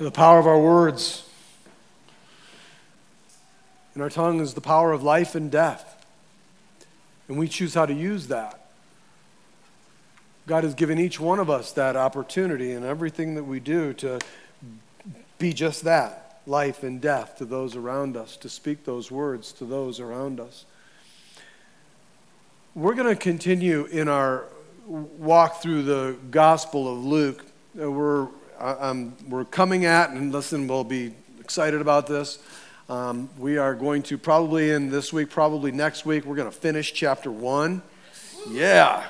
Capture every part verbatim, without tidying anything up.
The power of our words. And our tongue is the power of life and death. And we choose how to use that. God has given each one of us that opportunity in everything that we do to be just that, life and death to those around us, to speak those words to those around us. We're going to continue in our walk through the Gospel of Luke. Uh, we're um, we're coming at, and listen, we'll be excited about this. Um, we are going to probably in this week, probably next week, we're going to finish chapter one. Yeah.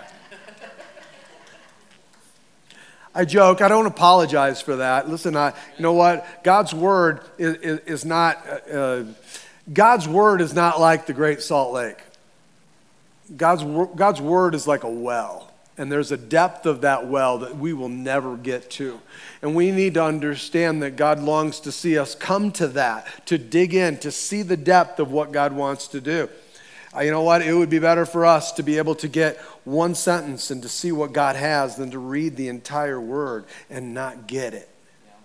I joke. I don't apologize for that. Listen, I, you know what? God's word is, is, is not. Uh, God's word is not like the Great Salt Lake. God's God's word is like a well. And there's a depth of that well that we will never get to. And we need to understand that God longs to see us come to that, to dig in, to see the depth of what God wants to do. Uh, you know what? It would be better for us to be able to get one sentence and to see what God has than to read the entire word and not get it.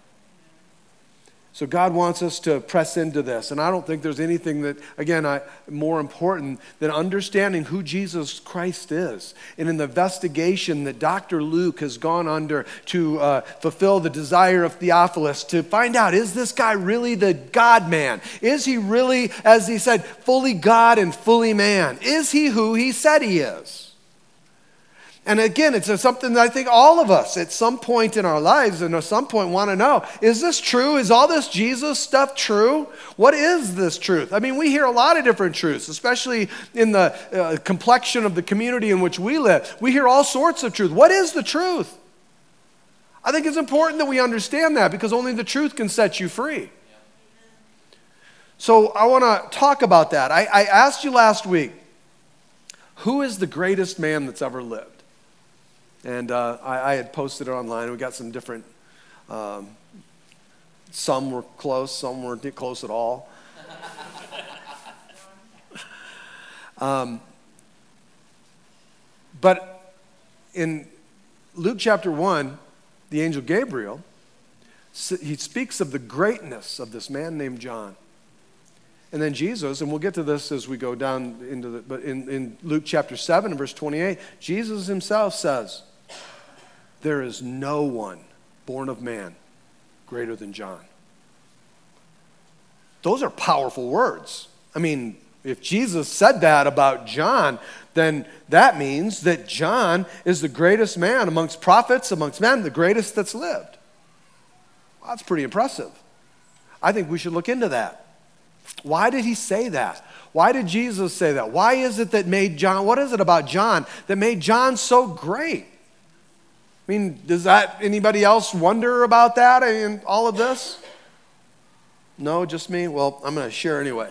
So God wants us to press into this. And I don't think there's anything that, again, I, more important than understanding who Jesus Christ is. And in the investigation that Doctor Luke has gone under to uh, fulfill the desire of Theophilus, to find out, is this guy really the God-man? Is he really, as he said, fully God and fully man? Is he who he said he is? And again, it's something that I think all of us at some point in our lives and at some point want to know, is this true? Is all this Jesus stuff true? What is this truth? I mean, we hear a lot of different truths, especially in the uh, complexion of the community in which we live. We hear all sorts of truth. What is the truth? I think it's important that we understand that because only the truth can set you free. So I want to talk about that. I, I asked you last week, who is the greatest man that's ever lived? And uh, I, I had posted it online. We got some different, um, some were close, some weren't close at all. um, but in Luke chapter one, the angel Gabriel, he speaks of the greatness of this man named John. And then Jesus, and we'll get to this as we go down into the, but in, in Luke chapter seven, verse twenty-eight, Jesus himself says, there is no one born of man greater than John. Those are powerful words. I mean, if Jesus said that about John, then that means that John is the greatest man amongst prophets, amongst men, the greatest that's lived. Well, that's pretty impressive. I think we should look into that. Why did he say that? Why did Jesus say that? Why is it that made John, what is it about John that made John so great? I mean, does that, anybody else wonder about that in all of this? No, just me? Well, I'm going to share anyway.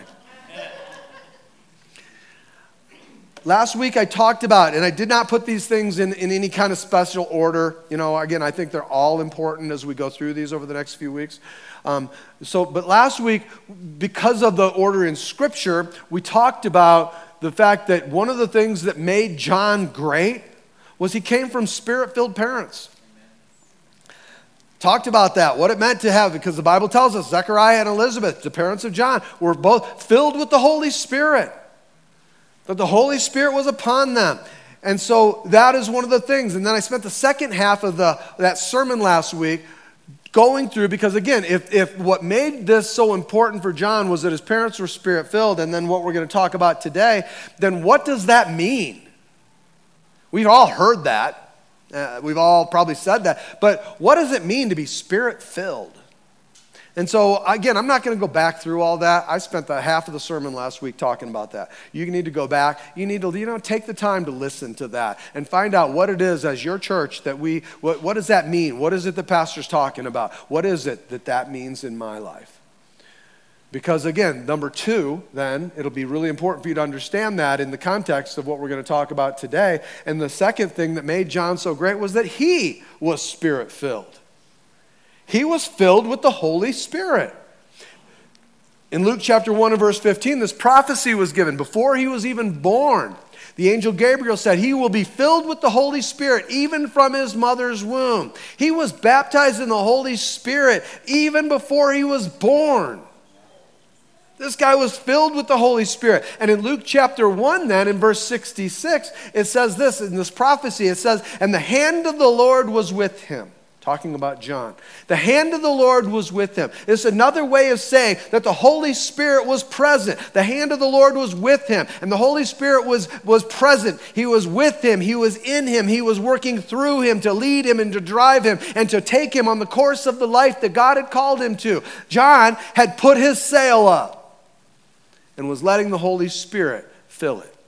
Last week I talked about, and I did not put these things in, in any kind of special order. You know, again, I think they're all important as we go through these over the next few weeks. Um, so, but last week, because of the order in Scripture, we talked about the fact that one of the things that made John great was he came from Spirit-filled parents. Amen. Talked about that, what it meant to have, because the Bible tells us Zechariah and Elizabeth, the parents of John, were both filled with the Holy Spirit. That the Holy Spirit was upon them. And so that is one of the things. And then I spent the second half of the that sermon last week going through, because again, if, if what made this so important for John was that his parents were Spirit-filled, and then what we're going to talk about today, then what does that mean? We've all heard that. Uh, we've all probably said that. But what does it mean to be Spirit-filled? And so, again, I'm not going to go back through all that. I spent the half of the sermon last week talking about that. You need to go back. You need to, you know, take the time to listen to that and find out what it is as your church that we, what, what does that mean? What is it the pastor's talking about? What is it that that means in my life? Because again, number two, then, it'll be really important for you to understand that in the context of what we're going to talk about today. And the second thing that made John so great was that he was Spirit-filled. He was filled with the Holy Spirit. In Luke chapter one and verse fifteen, this prophecy was given before he was even born, The angel Gabriel said, he will be filled with the Holy Spirit even from his mother's womb. He was baptized in the Holy Spirit even before he was born. This guy was filled with the Holy Spirit. And in Luke chapter one then, in verse sixty-six, it says this, in this prophecy, it says, and the hand of the Lord was with him. Talking about John. The hand of the Lord was with him. It's another way of saying that the Holy Spirit was present. The hand of the Lord was with him. And the Holy Spirit was, was present. He was with him. He was in him. He was working through him to lead him and to drive him and to take him on the course of the life that God had called him to. John had put his sail up and was letting the Holy Spirit fill it.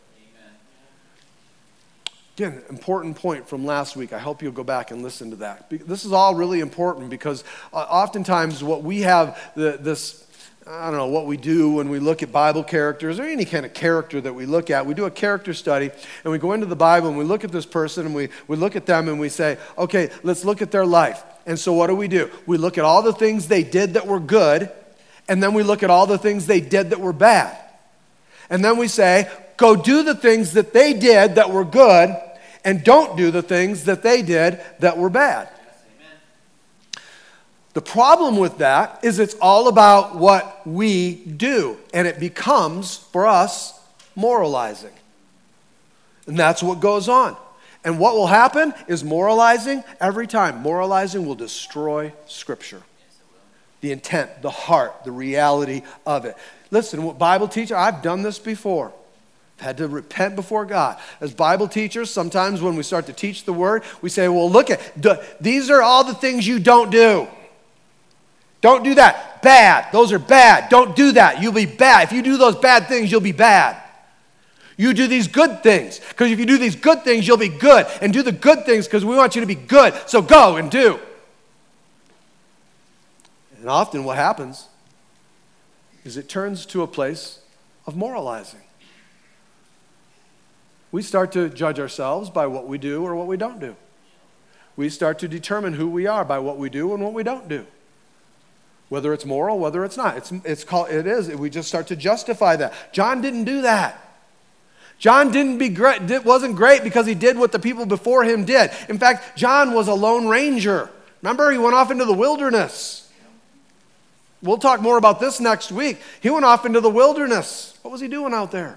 Again, important point from last week. I hope you'll go back and listen to that. This is all really important because uh, oftentimes what we have, the, this, I don't know, what we do when we look at Bible characters or any kind of character that we look at, we do a character study and we go into the Bible and we look at this person and we, we look at them and we say, okay, let's look at their life. And so what do we do? We look at all the things they did that were good, and then we look at all the things they did that were bad. And then we say, go do the things that they did that were good, and don't do the things that they did that were bad. Yes, the problem with that is it's all about what we do, and it becomes, for us, moralizing. And that's what goes on. And what will happen is moralizing every time. Moralizing will destroy Scripture. The intent, the heart, the reality of it. Listen, what Bible teacher, I've done this before. Had to repent before God. As Bible teachers, sometimes when we start to teach the Word, we say, well, look at, these are all the things you don't do. Don't do that. Bad. Those are bad. Don't do that. You'll be bad. If you do those bad things, you'll be bad. You do these good things, because if you do these good things, you'll be good. And do the good things because we want you to be good. So go and do. And often what happens is it turns to a place of moralizing. We start to judge ourselves by what we do or what we don't do. We start to determine who we are by what we do and what we don't do. Whether it's moral, whether it's not. It's, it's called, it is. We just start to justify that. John didn't do that. John didn't be great, wasn't great because he did what the people before him did. In fact, John was a lone ranger. Remember, he went off into the wilderness. We'll talk more about this next week. He went off into the wilderness. What was he doing out there?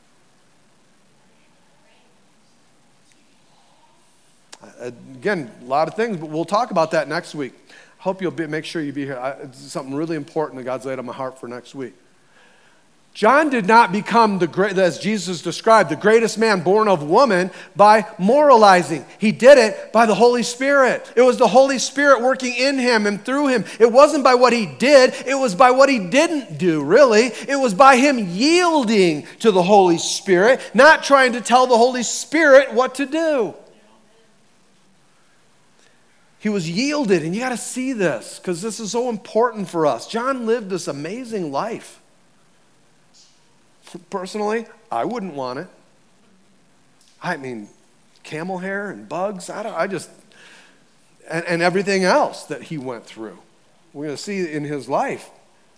Again, a lot of things, but we'll talk about that next week. Hope you'll be, make sure you be here. I, it's something really important that God's laid on my heart for next week. John did not become, the great, as Jesus described, the greatest man born of woman by moralizing. He did it by the Holy Spirit. It was the Holy Spirit working in him and through him. It wasn't by what he did. It was by what he didn't do, really. It was by him yielding to the Holy Spirit, not trying to tell the Holy Spirit what to do. He was yielded, and you got to see this because this is so important for us. John lived this amazing life. Personally, I wouldn't want it. I mean, camel hair and bugs, I, don't, I just, and, and everything else that he went through. We're going to see in his life.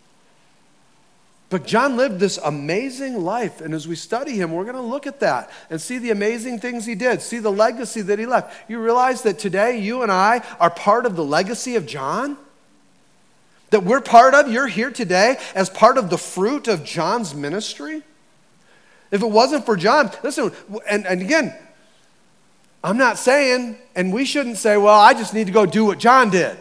But John lived this amazing life, and as we study him, we're going to look at that and see the amazing things he did, see the legacy that he left. You realize that today you and I are part of the legacy of John? That we're part of, you're here today as part of the fruit of John's ministry? If it wasn't for John, listen, and, and again, I'm not saying, and we shouldn't say, well, I just need to go do what John did.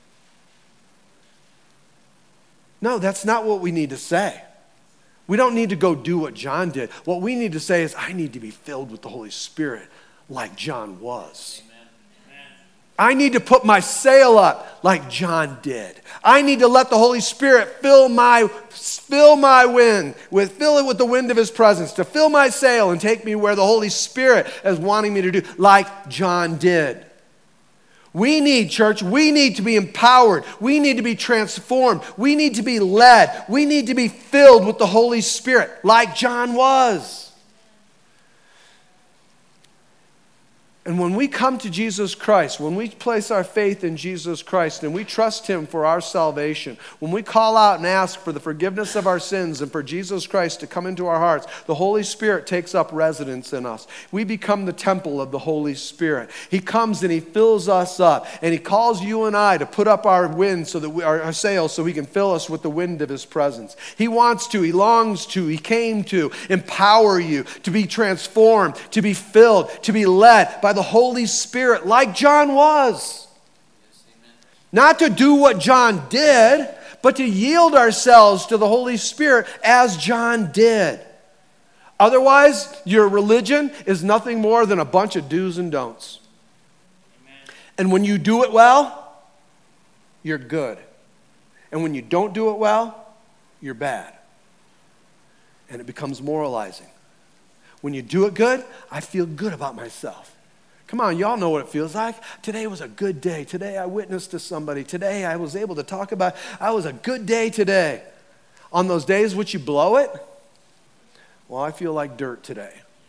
No, that's not what we need to say. We don't need to go do what John did. What we need to say is, I need to be filled with the Holy Spirit like John was. Amen. Amen. I need to put my sail up like John did. I need to let the Holy Spirit fill my, fill my wind, with, fill it with the wind of his presence, to fill my sail and take me where the Holy Spirit is wanting me to do, like John did. We need, church, we need to be empowered. We need to be transformed. We need to be led. We need to be filled with the Holy Spirit like John was. And when we come to Jesus Christ, when we place our faith in Jesus Christ and we trust him for our salvation, when we call out and ask for the forgiveness of our sins and for Jesus Christ to come into our hearts, the Holy Spirit takes up residence in us. We become the temple of the Holy Spirit. He comes and he fills us up, and he calls you and I to put up our wind so that we, our, our sails so he can fill us with the wind of his presence. He wants to, he longs to, he came to empower you, to be transformed, to be filled, to be led by the Holy Spirit like John was. Yes, amen. Not to do what John did, but to yield ourselves to the Holy Spirit as John did. Otherwise, your religion is nothing more than a bunch of do's and don'ts. Amen. And when you do it well, you're good. And when you don't do it well, you're bad. And it becomes moralizing. When you do it good, I feel good about myself. Come on, y'all know what it feels like. Today was a good day. Today I witnessed to somebody. Today I was able to talk about, I was a good day today. On those days which you blow it, well, I feel like dirt today.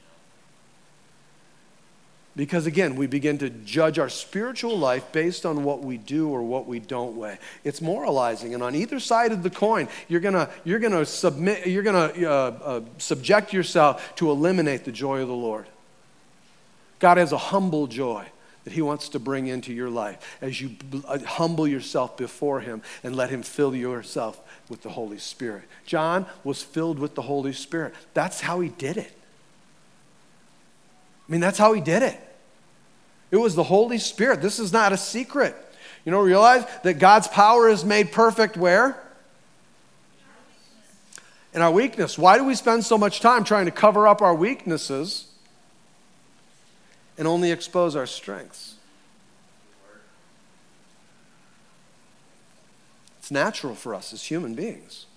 Because again, we begin to judge our spiritual life based on what we do or what we don't weigh. It's moralizing, and on either side of the coin, you're gonna you're gonna submit, you're gonna uh, uh, subject yourself to eliminate the joy of the Lord. God has a humble joy that he wants to bring into your life as you humble yourself before him and let him fill yourself with the Holy Spirit. John was filled with the Holy Spirit. That's how he did it. I mean, that's how he did it. It was the Holy Spirit. This is not a secret. You know, realize that God's power is made perfect where? In our weakness. Why do we spend so much time trying to cover up our weaknesses and only expose our strengths? It's natural for us as human beings.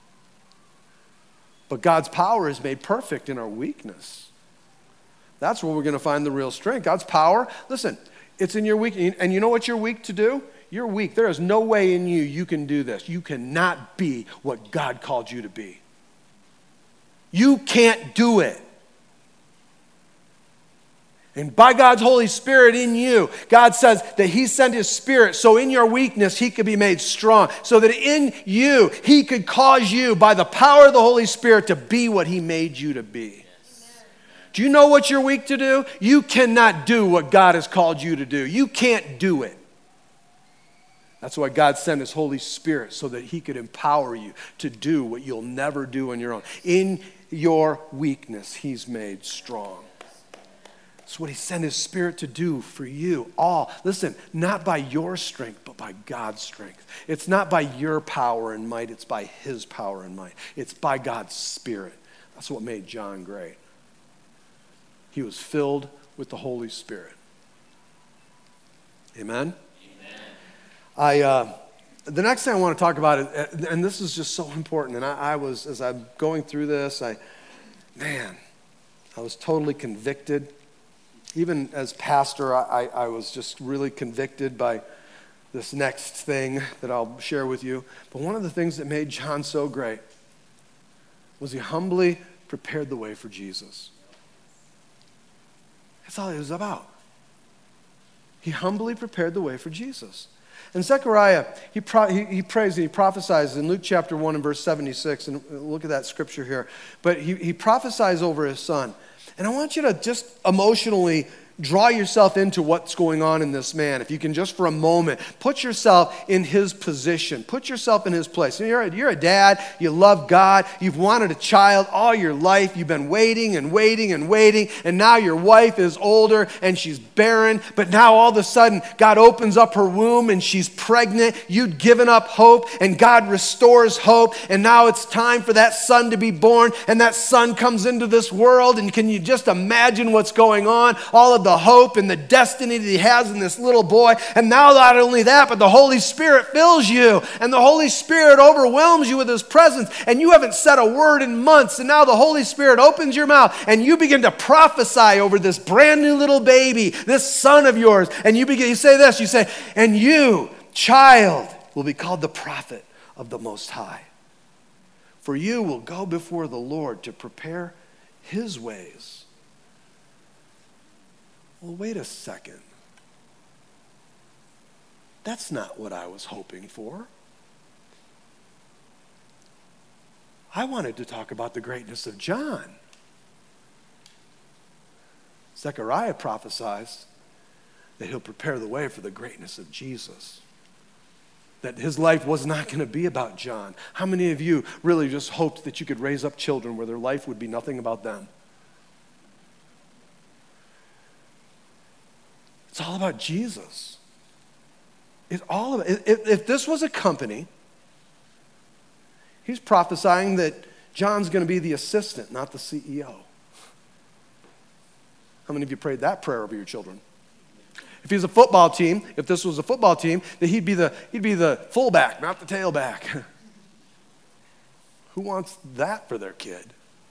But God's power is made perfect in our weakness. That's where we're going to find the real strength. God's power, listen, it's in your weakness. And you know what you're weak to do? You're weak. There is no way in you you can do this. You cannot be what God called you to be. You can't do it. And by God's Holy Spirit in you, God says that he sent his Spirit so in your weakness he could be made strong. So that in you, he could cause you by the power of the Holy Spirit to be what he made you to be. Yes. Do you know what you're weak to do? You cannot do what God has called you to do. You can't do it. That's why God sent his Holy Spirit so that he could empower you to do what you'll never do on your own. In your weakness, he's made strong. That's what he sent his Spirit to do for you all. Listen, not by your strength, but by God's strength. It's not by your power and might, it's by his power and might. It's by God's Spirit. That's what made John great. He was filled with the Holy Spirit. Amen? Amen. I, uh, the next thing I want to talk about, is, and this is just so important, and I, I was, as I'm going through this, I, man, I was totally convicted. Even as pastor, I, I was just really convicted by this next thing that I'll share with you. But one of the things that made John so great was he humbly prepared the way for Jesus. That's all it was about. He humbly prepared the way for Jesus. And Zechariah, he, pro, he, he prays and he prophesies in Luke chapter one and verse seventy-six. And look at that scripture here. But he, he prophesies over his son. And I want you to just emotionally draw yourself into what's going on in this man. If you can just for a moment, put yourself in his position. Put yourself in his place. You're a, you're a dad. You love God. You've wanted a child all your life. You've been waiting and waiting and waiting. And now your wife is older and she's barren. But now all of a sudden, God opens up her womb and she's pregnant. You'd given up hope and God restores hope. And now it's time for that son to be born. And that son comes into this world. And can you just imagine what's going on? All of the hope and the destiny that he has in this little boy. And now not only that, but the Holy Spirit fills you and the Holy Spirit overwhelms you with his presence and you haven't said a word in months and now the Holy Spirit opens your mouth and you begin to prophesy over this brand new little baby, this son of yours. And you begin, you say this, you say, and you, child, will be called the prophet of the Most High. For you will go before the Lord to prepare his ways. well, wait a second. That's not what I was hoping for. I wanted to talk about the greatness of John. Zechariah prophesies that he'll prepare the way for the greatness of Jesus. That his life was not going to be about John. How many of you really just hoped that you could raise up children where their life would be nothing about them? It's all about Jesus. It's all about, if, if this was a company, he's prophesying that John's going to be the assistant, not the C E O. How many of you prayed that prayer over your children? If he's a football team, if this was a football team, that he'd be the he'd be the fullback, not the tailback. Who wants that for their kid?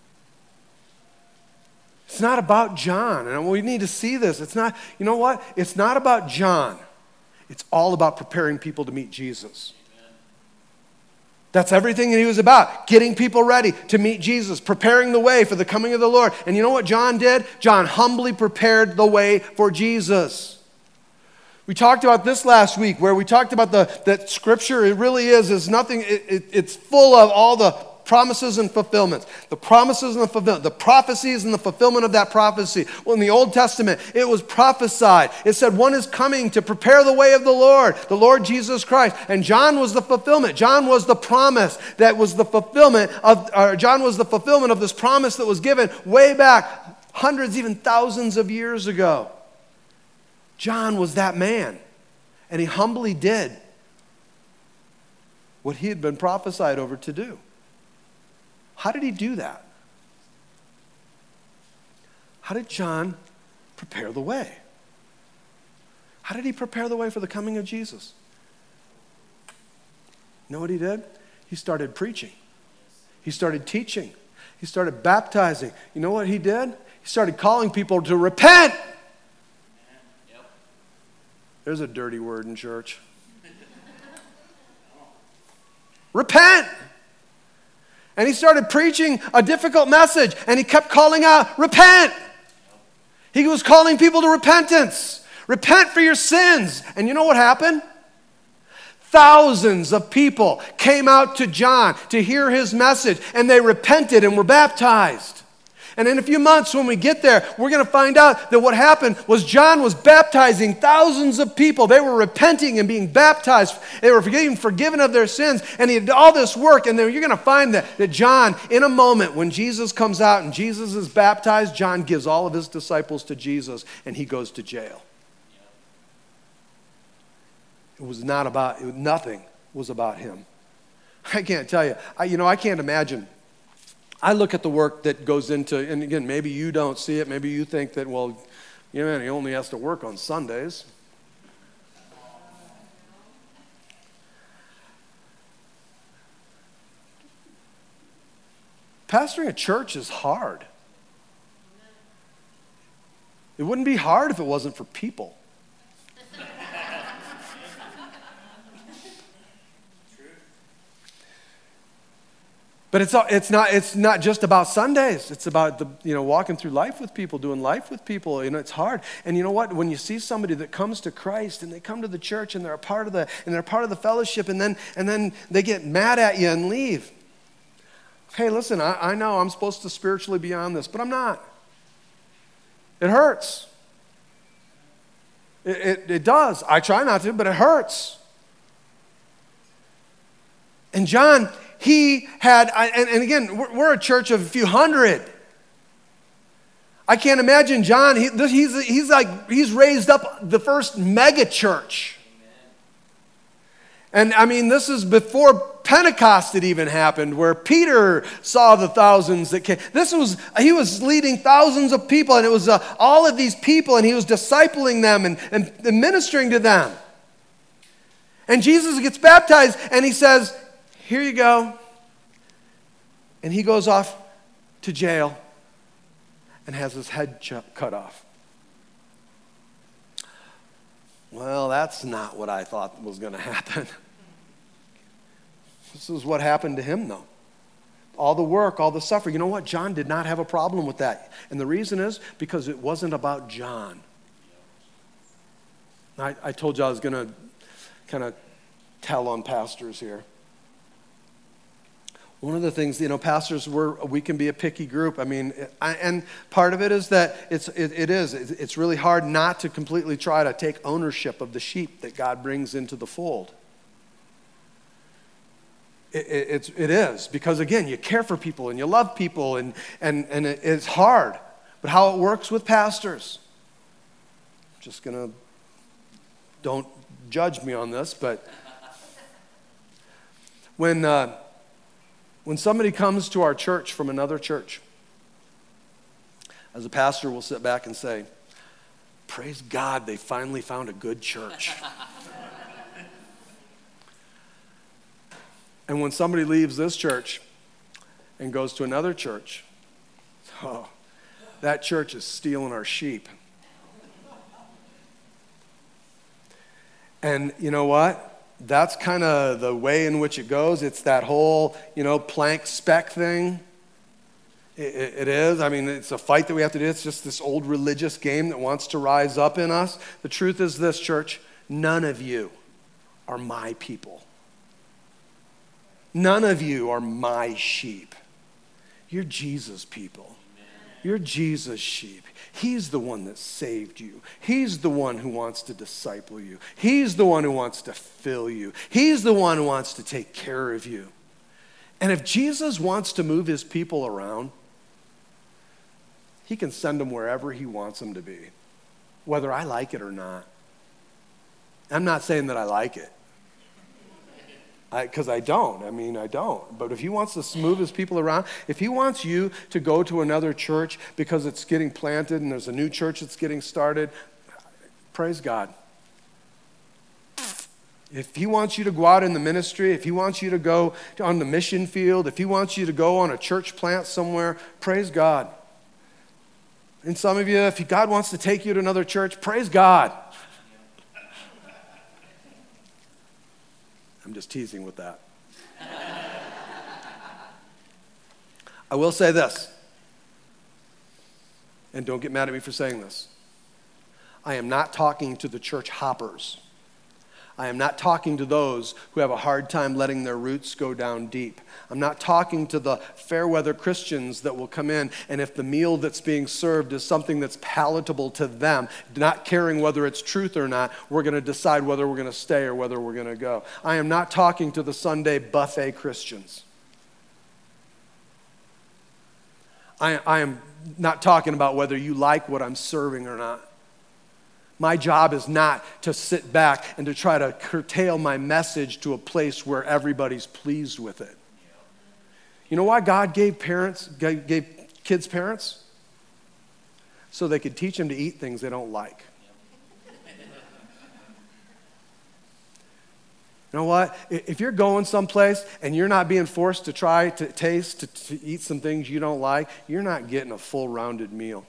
It's not about John, and we need to see this. It's not, you know what? It's not about John. It's all about preparing people to meet Jesus. That's everything that he was about, getting people ready to meet Jesus, preparing the way for the coming of the Lord. And you know what John did? John humbly prepared the way for Jesus. We talked about this last week, where we talked about the that Scripture, it really is, is nothing, it, it, it's full of all the promises and fulfillments. The promises and the fulfillment, the prophecies and the fulfillment of that prophecy. Well, in the Old Testament, it was prophesied. It said one is coming to prepare the way of the Lord, the Lord Jesus Christ. And John was the fulfillment. John was the promise that was the fulfillment of, or John was the fulfillment of this promise that was given way back hundreds, even thousands of years ago. John was that man, and he humbly did what he had been prophesied over to do. How did he do that? How did John prepare the way? How did he prepare the way for the coming of Jesus? You know what he did? He started preaching. He started teaching. He started baptizing. You know what he did? He started calling people to repent. Yep. There's a dirty word in church. Repent. And he started preaching a difficult message, and he kept calling out, repent. He was calling people to repentance. Repent for your sins. And you know what happened? Thousands of people came out to John to hear his message, and they repented and were baptized. And in a few months when we get there, we're going to find out that what happened was John was baptizing thousands of people. They were repenting and being baptized. They were getting forgiven of their sins. And he did all this work. And then you're going to find that, that John, in a moment, when Jesus comes out and Jesus is baptized, John gives all of his disciples to Jesus, and he goes to jail. It was not about, it, nothing was about him. I can't tell you. I, you know, I can't imagine. I look at the work that goes into, and again, maybe you don't see it. Maybe you think that, well, you know, he only has to work on Sundays. Pastoring a church is hard. It wouldn't be hard if it wasn't for people. But it's it's not it's not just about Sundays. It's about the you know walking through life with people, doing life with people. You know, it's hard. And you know what? When you see somebody that comes to Christ and they come to the church and they're a part of the and they're part of the fellowship, and then and then they get mad at you and leave. Hey, listen, I, I know I'm supposed to spiritually be on this, but I'm not. It hurts. It, it, it does. I try not to, but it hurts. And John, he had, and, and again, we're, we're a church of a few hundred. I can't imagine John, he, he's, he's like, he's raised up the first mega church. And I mean, this is before Pentecost had even happened, where Peter saw the thousands that came. This was, he was leading thousands of people, and it was uh, all of these people, and he was discipling them and, and, and ministering to them. And Jesus gets baptized, and he says, here you go. And he goes off to jail and has his head ch- cut off. Well, that's not what I thought was going to happen. This is what happened to him, though. All the work, all the suffering. You know what? John did not have a problem with that. And the reason is because it wasn't about John. I, I told you I was going to kind of tell on pastors here. One of the things, you know, pastors, we're, we can be a picky group. I mean, I, and part of it is that it's, it, it is. It's really hard not to completely try to take ownership of the sheep that God brings into the fold. It, it, it's, it is. Because, again, you care for people and you love people, and, and, and it, it's hard. But how it works with pastors, I'm just going to, don't judge me on this, but when... Uh, When somebody comes to our church from another church, as a pastor, we'll sit back and say, praise God, they finally found a good church. And when somebody leaves this church and goes to another church, oh, that church is stealing our sheep. And you know what? That's kind of the way in which it goes. It's that whole, you know, plank spec thing. It, it, it is. I mean, it's a fight that we have to do. It's just this old religious game that wants to rise up in us. The truth is this, church, none of you are my people. None of you are my sheep. You're Jesus' people. You're Jesus' sheep. He's the one that saved you. He's the one who wants to disciple you. He's the one who wants to fill you. He's the one who wants to take care of you. And if Jesus wants to move his people around, he can send them wherever he wants them to be, whether I like it or not. I'm not saying that I like it, because I, I don't. I mean, I don't. But if he wants to move his people around, if he wants you to go to another church because it's getting planted and there's a new church that's getting started, praise God. If he wants you to go out in the ministry, if he wants you to go on the mission field, if he wants you to go on a church plant somewhere, praise God. And some of you, if God wants to take you to another church, praise God. I'm just teasing with that. I will say this, and don't get mad at me for saying this. I am not talking to the church hoppers. I am not talking to those who have a hard time letting their roots go down deep. I'm not talking to the fair weather Christians that will come in, and if the meal that's being served is something that's palatable to them, not caring whether it's truth or not, we're going to decide whether we're going to stay or whether we're going to go. I am not talking to the Sunday buffet Christians. I, I am not talking about whether you like what I'm serving or not. My job is not to sit back and to try to curtail my message to a place where everybody's pleased with it. You know why God gave parents, gave kids parents? So they could teach them to eat things they don't like. You know what? If you're going someplace and you're not being forced to try to taste, to, to eat some things you don't like, you're not getting a full rounded meal.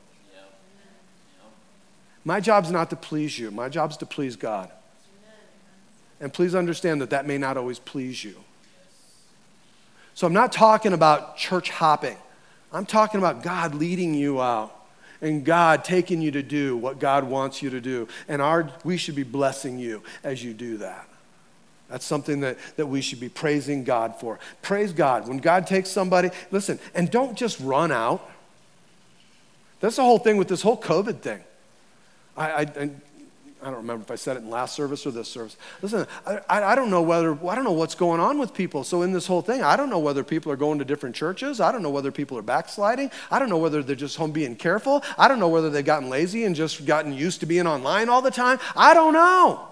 My job's not to please you. My job's to please God. And please understand that that may not always please you. So I'm not talking about church hopping. I'm talking about God leading you out and God taking you to do what God wants you to do. And our, we should be blessing you as you do that. That's something that, that we should be praising God for. Praise God. When God takes somebody, listen, and don't just run out. That's the whole thing with this whole COVID thing. I, I, I don't remember if I said it in last service or this service. Listen, I, I don't know whether, I don't know what's going on with people. So in this whole thing, I don't know whether people are going to different churches. I don't know whether people are backsliding. I don't know whether they're just home being careful. I don't know whether they've gotten lazy and just gotten used to being online all the time. I don't know.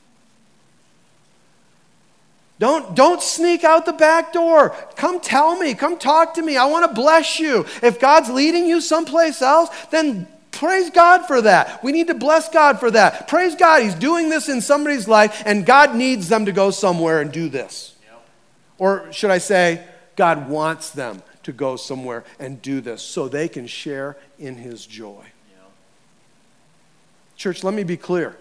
Don't, don't sneak out the back door. Come tell me. Come talk to me. I want to bless you. If God's leading you someplace else, then praise God for that. We need to bless God for that. Praise God. He's doing this in somebody's life, and God needs them to go somewhere and do this. Yep. Or should I say, God wants them to go somewhere and do this so they can share in his joy. Yep. Church, let me be clear.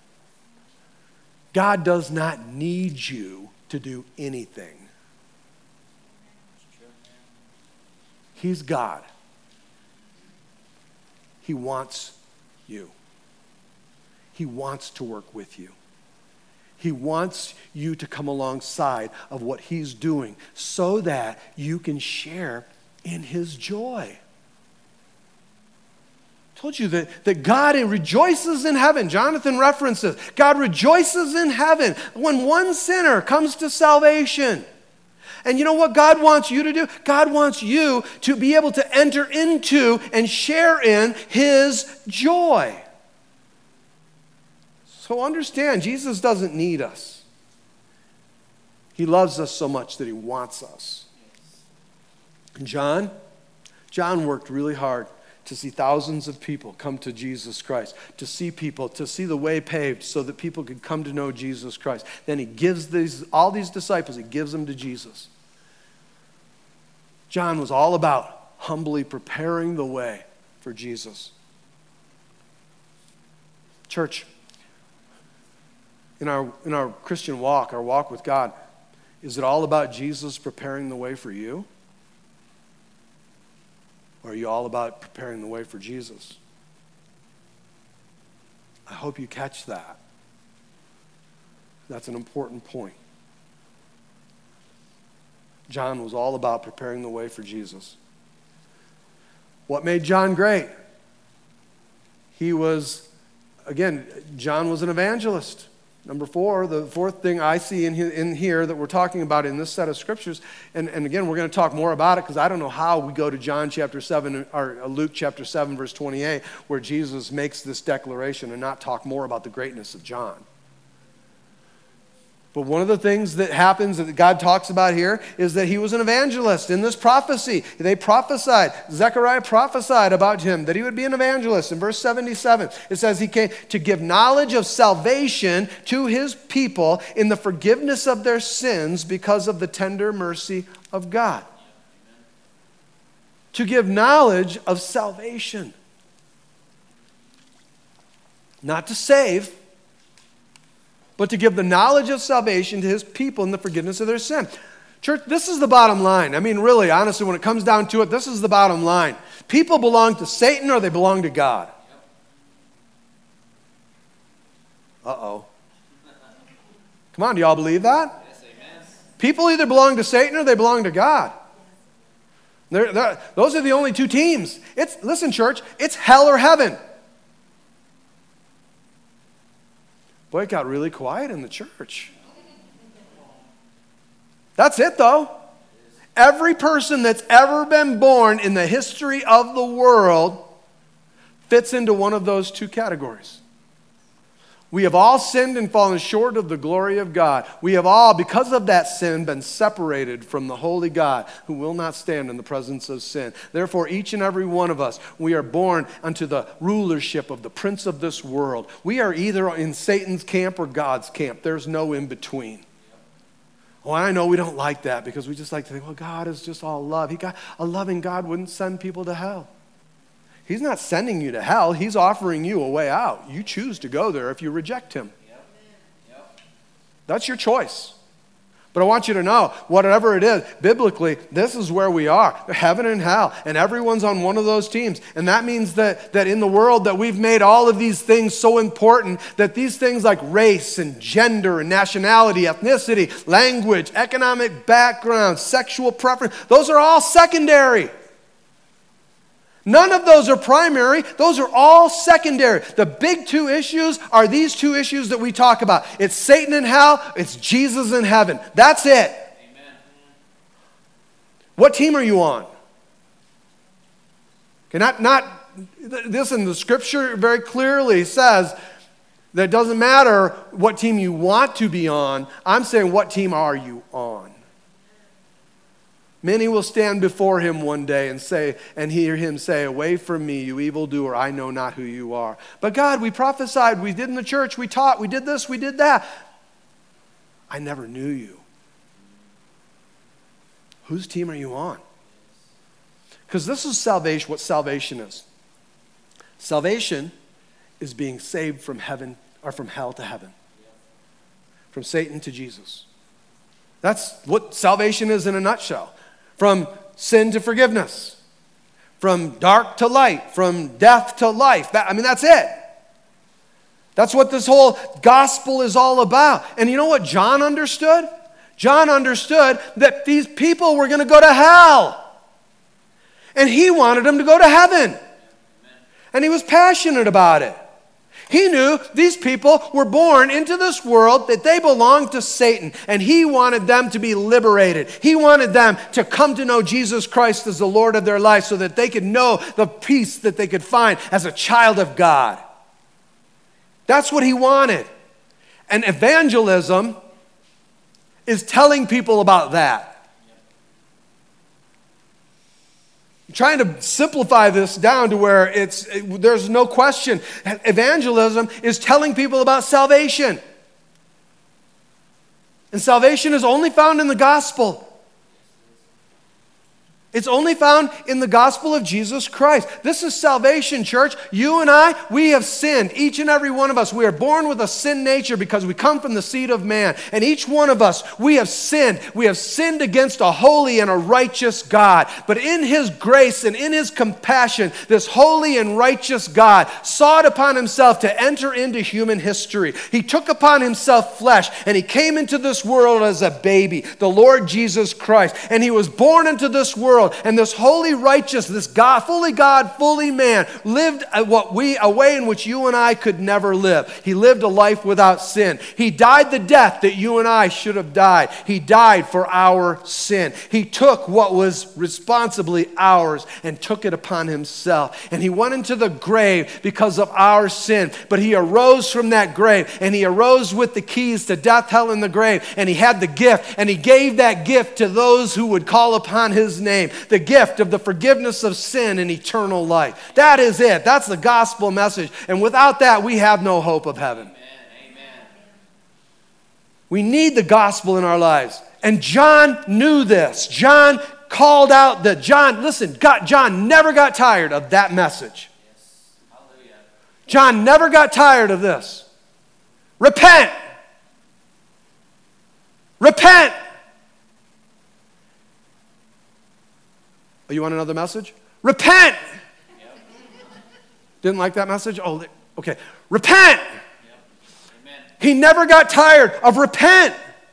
God does not need you to do anything. He's God. He wants you. He wants to work with you. He wants you to come alongside of what he's doing so that you can share in his joy. I told you that, that God rejoices in heaven. Jonathan references, God rejoices in heaven when one sinner comes to salvation. And you know what God wants you to do? God wants you to be able to enter into and share in his joy. So understand, Jesus doesn't need us. He loves us so much that he wants us. And John, John worked really hard to see thousands of people come to Jesus Christ, to see people, to see the way paved so that people could come to know Jesus Christ. Then he gives these, all these disciples, he gives them to Jesus. John was all about humbly preparing the way for Jesus. Church, in our, in our Christian walk, our walk with God, is it all about Jesus preparing the way for you? Or are you all about preparing the way for Jesus? I hope you catch that. That's an important point. John was all about preparing the way for Jesus. What made John great? He was, again, John was an evangelist. Number four, the fourth thing I see in, in here that we're talking about in this set of scriptures, and, and again, we're going to talk more about it because I don't know how we go to John chapter seven, or Luke chapter seven, verse twenty-eight, where Jesus makes this declaration and not talk more about the greatness of John. But one of the things that happens that God talks about here is that he was an evangelist in this prophecy. They prophesied, Zechariah prophesied about him, that he would be an evangelist. In verse seventy-seven, it says he came to give knowledge of salvation to his people in the forgiveness of their sins because of the tender mercy of God. To give knowledge of salvation. Not to save, but to give the knowledge of salvation to his people in the forgiveness of their sin. Church, this is the bottom line. I mean, really, honestly, when it comes down to it, this is the bottom line. People belong to Satan or they belong to God. Uh-oh. Come on, do y'all believe that? Yes, amen. People either belong to Satan or they belong to God. They're, they're, those are the only two teams. It's, listen, church, it's hell or heaven. Boy, it got really quiet in the church. That's it, though. Every person that's ever been born in the history of the world fits into one of those two categories. We have all sinned and fallen short of the glory of God. We have all, because of that sin, been separated from the holy God who will not stand in the presence of sin. Therefore, each and every one of us, we are born unto the rulership of the prince of this world. We are either in Satan's camp or God's camp. There's no in between. Well, I know we don't like that because we just like to think, well, God is just all love. He got, a loving God wouldn't send people to hell. He's not sending you to hell. He's offering you a way out. You choose to go there if you reject him. Yep. Yep. That's your choice. But I want you to know, whatever it is, biblically, this is where we are, heaven and hell, and everyone's on one of those teams. And that means that, that in the world that we've made all of these things so important that these things like race and gender and nationality, ethnicity, language, economic background, sexual preference, those are all secondary. None of those are primary. Those are all secondary. The big two issues are these two issues that we talk about. It's Satan in hell. It's Jesus in heaven. That's it. Amen. What team are you on? Okay, not, not, listen, the scripture very clearly says that it doesn't matter what team you want to be on. I'm saying, what team are you on? Many will stand before him one day and say, and hear him say, away from me, you evildoer, I know not who you are. But God, we prophesied, we did in the church, we taught, we did this, we did that. I never knew you. Whose team are you on? Because this is salvation, what salvation is. Salvation is being saved from heaven, or from hell to heaven. From Satan to Jesus. That's what salvation is in a nutshell. From sin to forgiveness. From dark to light. From death to life. That, I mean, that's it. That's what this whole gospel is all about. And you know what John understood? John understood that these people were going to go to hell. And he wanted them to go to heaven. And he was passionate about it. He knew these people were born into this world, that they belonged to Satan, and he wanted them to be liberated. He wanted them to come to know Jesus Christ as the Lord of their life so that they could know the peace that they could find as a child of God. That's what he wanted. And evangelism is telling people about that. I'm trying to simplify this down to where it's it, there's no question. Evangelism is telling people about salvation. And salvation is only found in the gospel. It's only found in the gospel of Jesus Christ. This is salvation, church. You and I, we have sinned. Each and every one of us, we are born with a sin nature because we come from the seed of man. And each one of us, we have sinned. We have sinned against a holy and a righteous God. But in his grace and in his compassion, this holy and righteous God sought upon himself to enter into human history. He took upon himself flesh, and he came into this world as a baby, the Lord Jesus Christ. And he was born into this world. And this holy, righteous, this God, fully God, fully man, lived what we, a way in which you and I could never live. He lived a life without sin. He died the death that you and I should have died. He died for our sin. He took what was responsibly ours and took it upon himself. And he went into the grave because of our sin. But he arose from that grave, and he arose with the keys to death, hell, and the grave. And he had the gift, and he gave that gift to those who would call upon his name. The gift of the forgiveness of sin and eternal life. That is it. That's the gospel message. And without that, we have no hope of heaven. Amen. Amen. We need the gospel in our lives. And John knew this. John called out that John, listen, God, John never got tired of that message. Yes. Hallelujah. John never got tired of this. Repent. Repent. Oh, you want another message? Repent! Yep. Didn't like that message? Oh, okay. Repent! Yep. Amen. He never got tired of repent.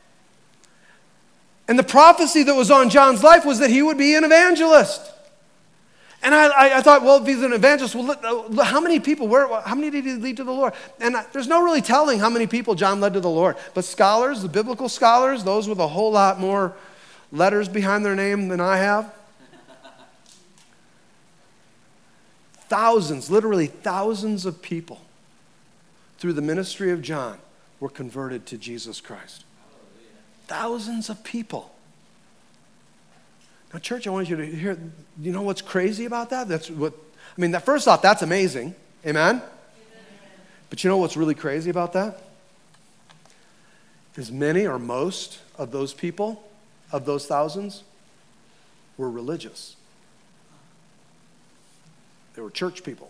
And the prophecy that was on John's life was that he would be an evangelist. And I, I, I thought, well, if he's an evangelist, well, how many people, where, how many did he lead to the Lord? And I, there's no really telling how many people John led to the Lord. But scholars, the biblical scholars, those with a whole lot more letters behind their name than I have, thousands, literally thousands of people through the ministry of John were converted to Jesus Christ. Hallelujah. Thousands of people. Now, church, I want you to hear, you know what's crazy about that? That's what, I mean, that first off, that's amazing. Amen? Amen? But you know what's really crazy about that? Is many or most of those people, of those thousands, were religious. They were church people.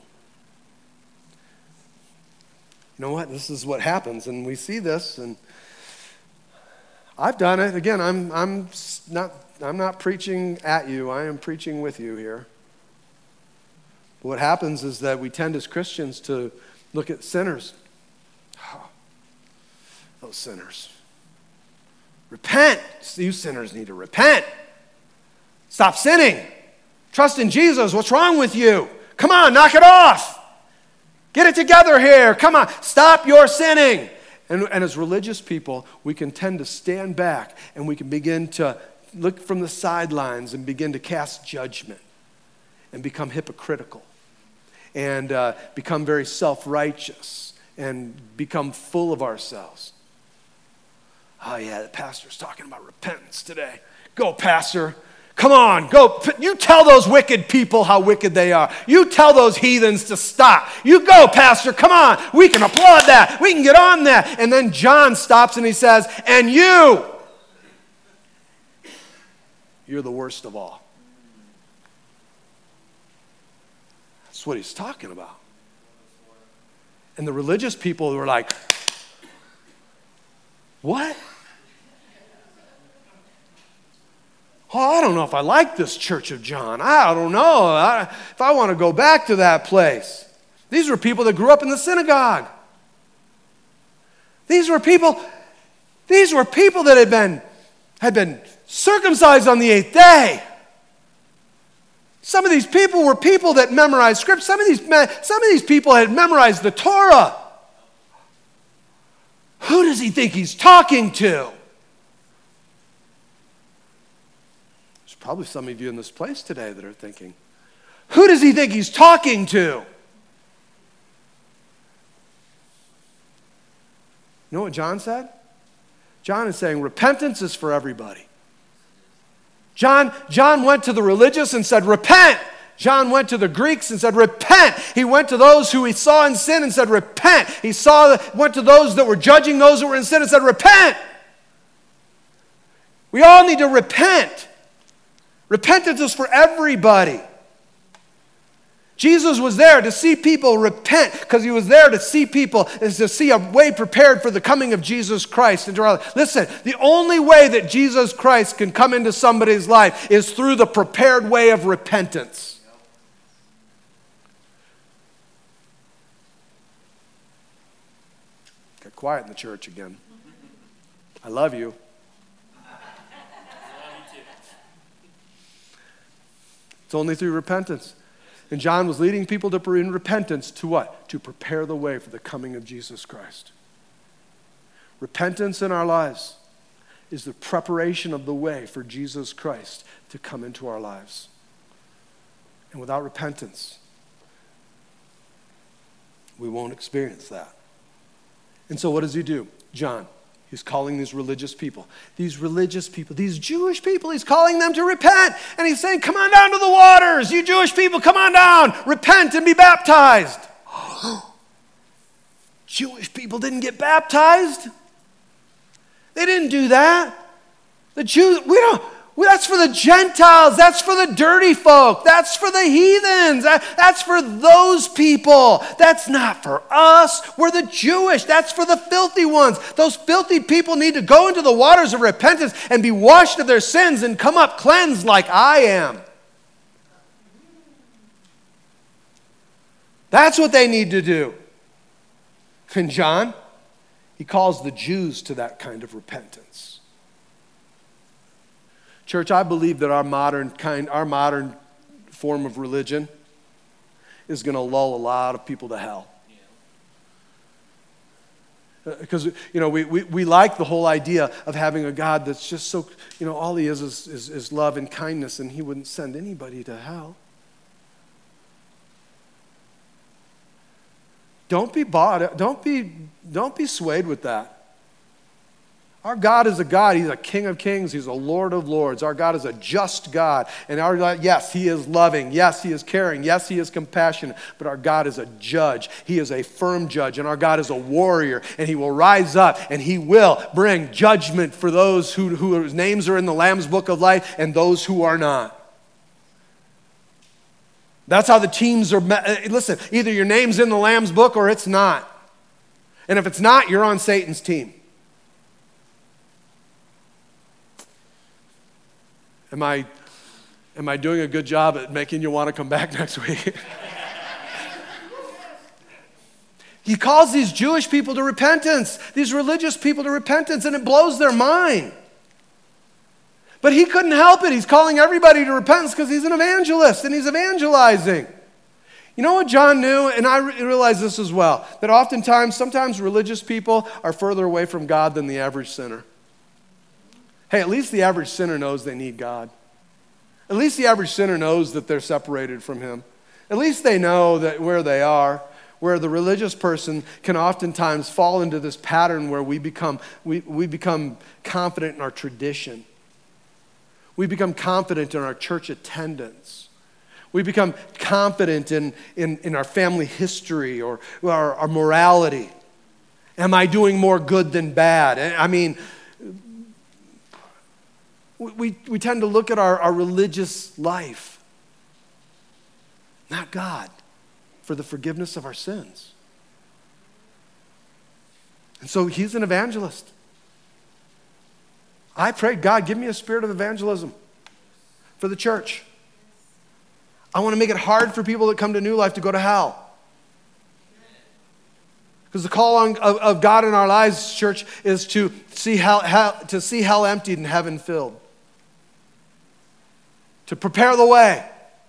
You know what? This is what happens, and we see this, and I've done it. Again, I'm I'm not I'm not preaching at you. I am preaching with you here. But what happens is that we tend as Christians to look at sinners. Oh, those sinners. Repent. You sinners need to repent. Stop sinning. Trust in Jesus. What's wrong with you? Come on, knock it off. Get it together here. Come on, stop your sinning. And, and as religious people, we can tend to stand back and we can begin to look from the sidelines and begin to cast judgment and become hypocritical and uh, become very self-righteous and become full of ourselves. Oh yeah, the pastor's talking about repentance today. Go, pastor. Come on, go. You tell those wicked people how wicked they are. You tell those heathens to stop. You go, pastor. Come on. We can applaud that. We can get on that. And then John stops and he says, and you, you're the worst of all. That's what he's talking about. And the religious people were like, what? Oh, I don't know if I like this Church of John. I don't know I, if I want to go back to that place. These were people that grew up in the synagogue. These were people, these were people that had been, had been circumcised on the eighth day. Some of these people were people that memorized scripts. Some of these, some of these people had memorized the Torah. Who does he think he's talking to? There's probably some of you in this place today that are thinking, who does he think he's talking to? You know what John said? John is saying repentance is for everybody. John, John went to the religious and said, repent. John went to the Greeks and said, repent. He went to those who he saw in sin and said, repent. He saw, went to those that were judging those that were in sin and said, repent. We all need to repent. Repentance is for everybody. Jesus was there to see people repent because he was there to see people, is to see a way prepared for the coming of Jesus Christ into our life. Listen, the only way that Jesus Christ can come into somebody's life is through the prepared way of repentance. Got quiet in the church again. I love you. It's only through repentance. And John was leading people to in repentance to what? To prepare the way for the coming of Jesus Christ. Repentance in our lives is the preparation of the way for Jesus Christ to come into our lives. And without repentance, we won't experience that. And so what does he do? John, he's calling these religious people, these religious people, these Jewish people, he's calling them to repent. And he's saying, come on down to the waters. You Jewish people, come on down. Repent and be baptized. Jewish people didn't get baptized. They didn't do that. The Jews, we don't, well, that's for the Gentiles. That's for the dirty folk. That's for the heathens. That, that's for those people. That's not for us. We're the Jewish. That's for the filthy ones. Those filthy people need to go into the waters of repentance and be washed of their sins and come up cleansed like I am. That's what they need to do. And John, he calls the Jews to that kind of repentance. Church, I believe that our modern kind, our modern form of religion is going to lull a lot of people to hell. Because, you know, we, we, we like the whole idea of having a God that's just so, you know, all he is is, is is love and kindness, and he wouldn't send anybody to hell. Don't be bought, don't be, don't be swayed with that. Our God is a God. He's a King of kings. He's a Lord of lords. Our God is a just God. And our God, yes, he is loving. Yes, he is caring. Yes, he is compassionate. But our God is a judge. He is a firm judge. And our God is a warrior. And he will rise up and he will bring judgment for those who, whose names are in the Lamb's book of life and those who are not. That's how the teams are. Listen, either your name's in the Lamb's book or it's not. And if it's not, you're on Satan's team. Am I, am I doing a good job at making you want to come back next week? He calls these Jewish people to repentance, these religious people to repentance, and it blows their mind. But he couldn't help it. He's calling everybody to repentance because he's an evangelist and he's evangelizing. You know what John knew, and I realize this as well, that oftentimes, sometimes religious people are further away from God than the average sinner. Hey, at least the average sinner knows they need God. At least the average sinner knows that they're separated from him. At least they know that where they are, where the religious person can oftentimes fall into this pattern where we become, we, we become confident in our tradition. We become confident in our church attendance. We become confident in, in, in our family history or our, our morality. Am I doing more good than bad? I mean, We, we tend to look at our, our religious life, not God, for the forgiveness of our sins. And so he's an evangelist. I prayed, God, give me a spirit of evangelism for the church. I want to make it hard for people that come to New Life to go to hell. Because the call on, of, of God in our lives, church, is to see hell, hell, to see hell emptied and heaven filled. To prepare the way.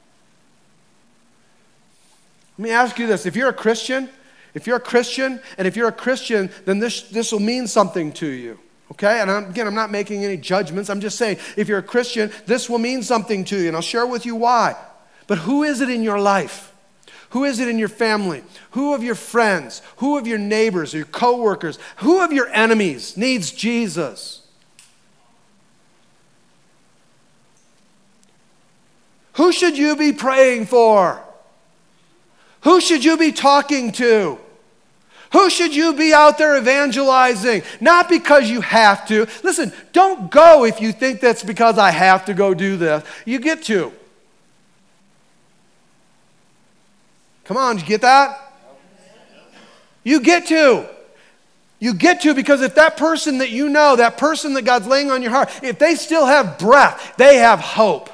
Let me ask you this. If you're a Christian, if you're a Christian, and if you're a Christian, then this, this will mean something to you. Okay? And I'm, again, I'm not making any judgments. I'm just saying, if you're a Christian, this will mean something to you. And I'll share with you why. But who is it in your life? Who is it in your family? Who of your friends? Who of your neighbors or your coworkers? Who of your enemies needs Jesus? Who should you be praying for? Who should you be talking to? Who should you be out there evangelizing? Not because you have to. Listen, don't go if you think that's because I have to go do this. You get to. Come on, did you get that? You get to. You get to because if that person that you know, that person that God's laying on your heart, if they still have breath, they have hope.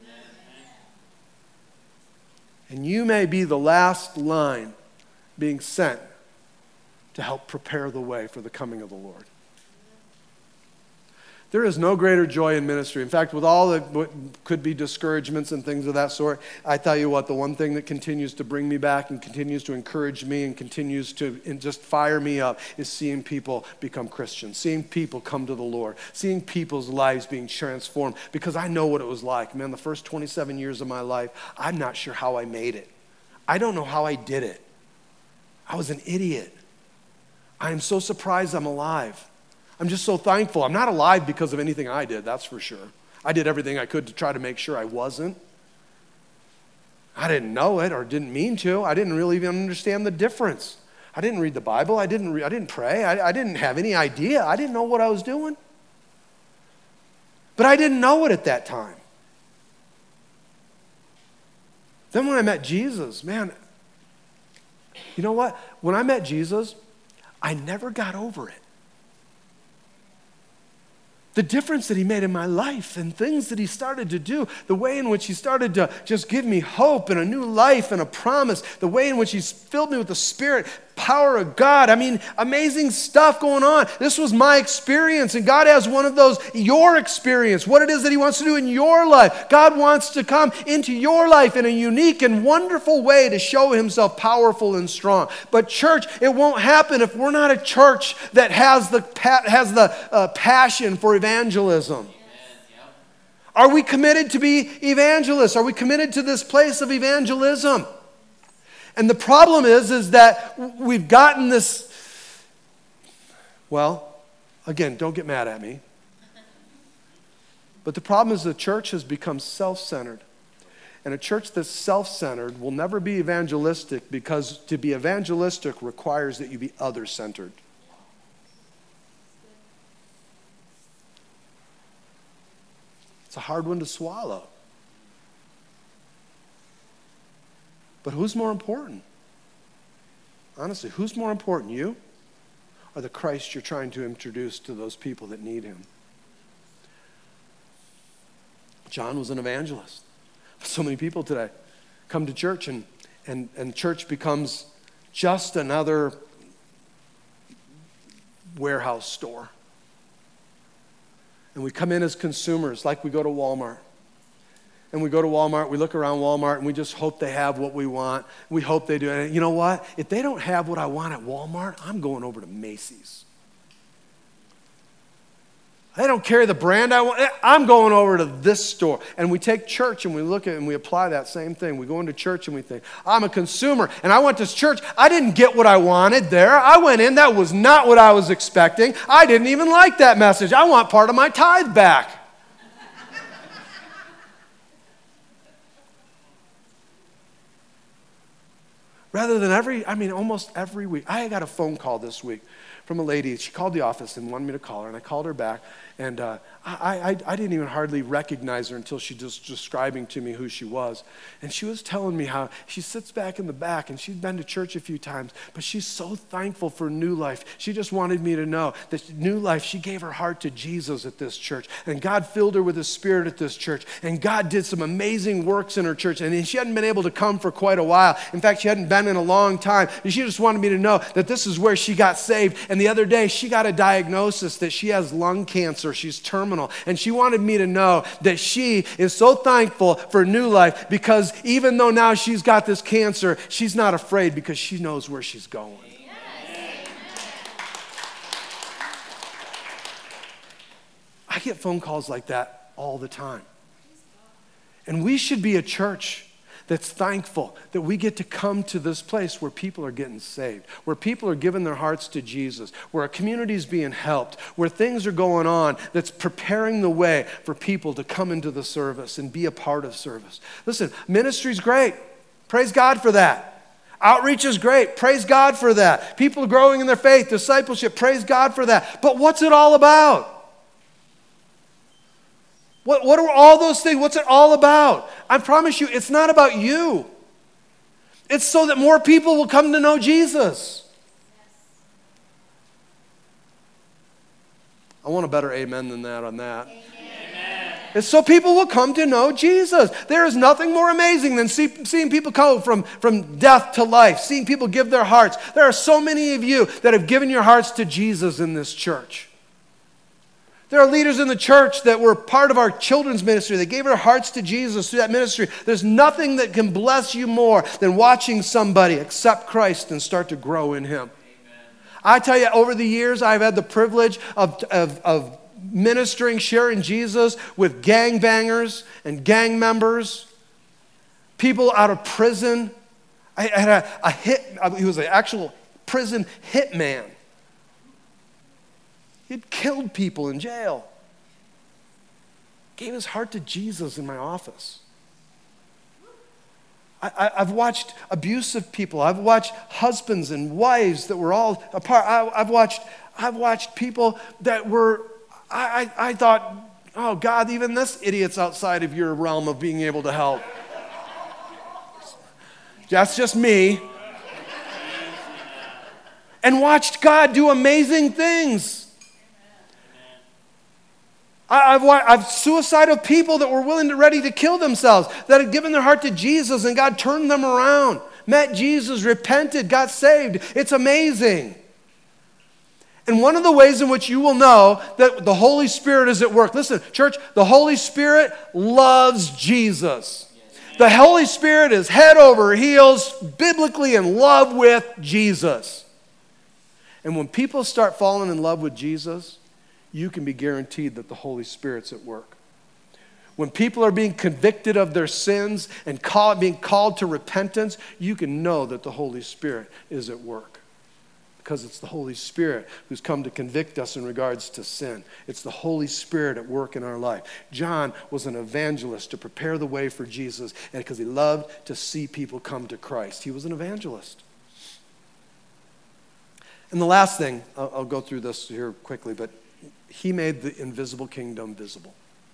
And you may be the last line being sent to help prepare the way for the coming of the Lord. There is no greater joy in ministry. In fact, with all the what could be discouragements and things of that sort, I tell you what, the one thing that continues to bring me back and continues to encourage me and continues to and just fire me up is seeing people become Christians, seeing people come to the Lord, seeing people's lives being transformed, because I know what it was like. Man, the first twenty-seven years of my life, I'm not sure how I made it. I don't know how I did it. I was an idiot. I am so surprised I'm alive. I'm just so thankful. I'm not alive because of anything I did, that's for sure. I did everything I could to try to make sure I wasn't. I didn't know it or didn't mean to. I didn't really even understand the difference. I didn't read the Bible. I didn't, re- I didn't pray. I, I didn't have any idea. I didn't know what I was doing. But I didn't know it at that time. Then when I met Jesus, man, you know what? When I met Jesus, I never got over it. The difference that he made in my life and things that he started to do, the way in which he started to just give me hope and a new life and a promise, the way in which he's filled me with the Spirit, power of God. I mean, amazing stuff going on. This was my experience, and God has one of those, your experience, what it is that he wants to do in your life. God wants to come into your life in a unique and wonderful way to show himself powerful and strong. But church, it won't happen if we're not a church that has the, has the uh, passion for evangelism. Are we committed to be evangelists? Are we committed to this place of evangelism? And the problem is, is that we've gotten this, well, again, don't get mad at me. But the problem is the church has become self-centered. And a church that's self-centered will never be evangelistic, because to be evangelistic requires that you be other-centered. It's a hard one to swallow. But who's more important? Honestly, who's more important, you or the Christ you're trying to introduce to those people that need him? John was an evangelist. So many people today come to church, and, and, and church becomes just another warehouse store. And we come in as consumers, like we go to Walmart. And we go to Walmart, we look around Walmart, and we just hope they have what we want. We hope they do. And you know what? If they don't have what I want at Walmart, I'm going over to Macy's. They don't carry the brand I want. I'm going over to this store. And we take church and we look at it and we apply that same thing. We go into church and we think, I'm a consumer. And I went to church. I didn't get what I wanted there. I went in. That was not what I was expecting. I didn't even like that message. I want part of my tithe back. Rather than every, I mean, almost every week. I got a phone call this week from a lady. She called the office and wanted me to call her, and I called her back. And uh, I, I, I didn't even hardly recognize her until she was describing to me who she was. And she was telling me how she sits back in the back, and she'd been to church a few times, but she's so thankful for New Life. She just wanted me to know that New Life, she gave her heart to Jesus at this church, and God filled her with His Spirit at this church, and God did some amazing works in her church, and she hadn't been able to come for quite a while. In fact, she hadn't been in a long time, and she just wanted me to know that this is where she got saved. And the other day, she got a diagnosis that she has lung cancer. She's terminal. And she wanted me to know that she is so thankful for New Life because even though now she's got this cancer, she's not afraid because she knows where she's going. Yes. I get phone calls like that all the time. And we should be a church that's thankful that we get to come to this place where people are getting saved, where people are giving their hearts to Jesus, where a community is being helped, where things are going on that's preparing the way for people to come into the service and be a part of service. Listen, ministry's great. Praise God for that. Outreach is great. Praise God for that. People are growing in their faith, discipleship, praise God for that. But what's it all about? What, what are all those things? What's it all about? I promise you, it's not about you. It's so that more people will come to know Jesus. I want a better amen than that on that. Amen. It's so people will come to know Jesus. There is nothing more amazing than see, seeing people go from, from death to life, seeing people give their hearts. There are so many of you that have given your hearts to Jesus in this church. There are leaders in the church that were part of our children's ministry. They gave their hearts to Jesus through that ministry. There's nothing that can bless you more than watching somebody accept Christ and start to grow in Him. Amen. I tell you, over the years, I've had the privilege of, of, of ministering, sharing Jesus with gangbangers and gang members, people out of prison. I had a, a hit, he was an actual prison hitman. He'd killed people in jail. Gave his heart to Jesus in my office. I, I, I've watched abusive people. I've watched husbands and wives that were all apart. I, I've watched, I've watched people that were, I, I, I thought, oh God, even this idiot's outside of your realm of being able to help. That's just me. And watched God do amazing things. I've, I've suicidal people that were willing to ready to kill themselves, that had given their heart to Jesus and God turned them around, met Jesus, repented, got saved. It's amazing. And one of the ways in which you will know that the Holy Spirit is at work, listen, church, the Holy Spirit loves Jesus. The Holy Spirit is head over heels, biblically in love with Jesus. And when people start falling in love with Jesus, you can be guaranteed that the Holy Spirit's at work. When people are being convicted of their sins and call, being called to repentance, you can know that the Holy Spirit is at work. Because it's the Holy Spirit who's come to convict us in regards to sin. It's the Holy Spirit at work in our life. John was an evangelist to prepare the way for Jesus, and because he loved to see people come to Christ. He was an evangelist. And the last thing, I'll, I'll go through this here quickly, but he made the invisible kingdom visible.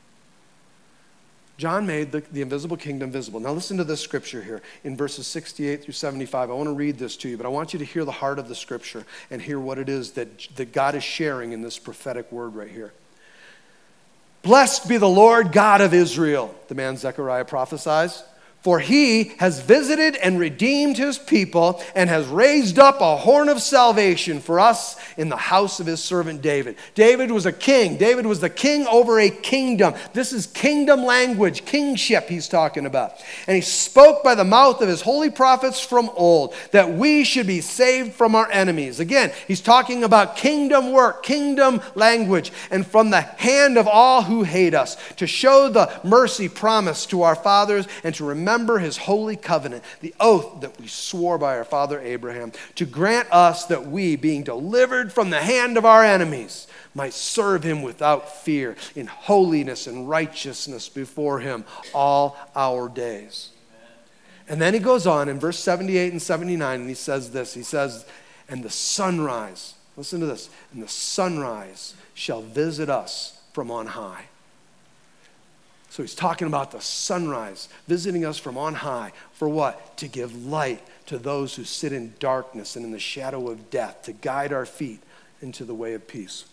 John made the, the invisible kingdom visible. Now listen to this scripture here in verses sixty-eight through seventy-five. I want to read this to you, but I want you to hear the heart of the scripture and hear what it is that, that God is sharing in this prophetic word right here. Blessed be the Lord God of Israel, the man Zechariah prophesies. For he has visited and redeemed his people and has raised up a horn of salvation for us in the house of his servant David. David was a king. David was the king over a kingdom. This is kingdom language, kingship he's talking about. And he spoke by the mouth of his holy prophets from old that we should be saved from our enemies. Again, he's talking about kingdom work, kingdom language, and from the hand of all who hate us, to show the mercy promised to our fathers and to remember Remember his holy covenant, the oath that we swore by our father Abraham, to grant us that we, being delivered from the hand of our enemies, might serve him without fear in holiness and righteousness before him all our days. Amen. And then he goes on in verse seventy-eight and seventy-nine, and he says this. He says, and the sunrise Listen to this. And the sunrise shall visit us from on high. So he's talking about the sunrise visiting us from on high. For what? To give light to those who sit in darkness and in the shadow of death, to guide our feet into the way of peace.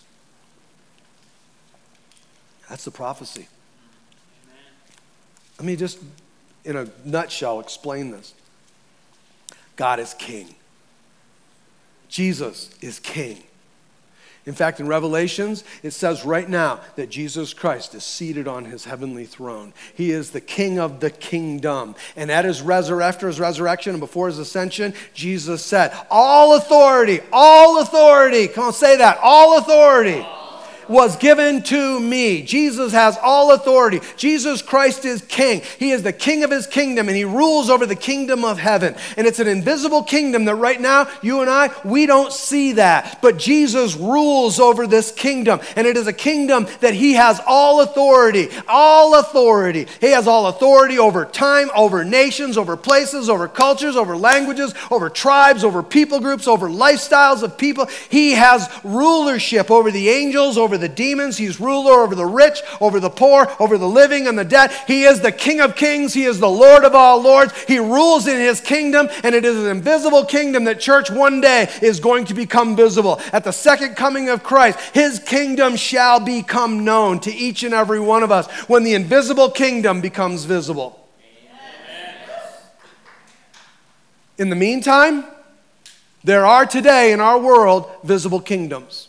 That's the prophecy. Amen. Let me just, in a nutshell, explain this. God is king. Jesus is king. In fact, in Revelations, it says right now that Jesus Christ is seated on his heavenly throne. He is the king of the kingdom. And at his resur- after his resurrection and before his ascension, Jesus said, all authority, all authority, come on, say that, all authority was given to me. Jesus has all authority. Jesus Christ is king. He is the king of his kingdom, and he rules over the kingdom of heaven. And it's an invisible kingdom that right now, you and I, we don't see that. But Jesus rules over this kingdom, and it is a kingdom that he has all authority. All authority. He has all authority over time, over nations, over places, over cultures, over languages, over tribes, over people groups, over lifestyles of people. He has rulership over the angels, over the demons. He's ruler over the rich, over the poor, over the living and the dead. He is the King of kings. He is the Lord of all lords. He rules in his kingdom, and it is an invisible kingdom that, church, one day is going to become visible. At the second coming of Christ, his kingdom shall become known to each and every one of us when the invisible kingdom becomes visible. Amen. In the meantime, there are today in our world visible kingdoms.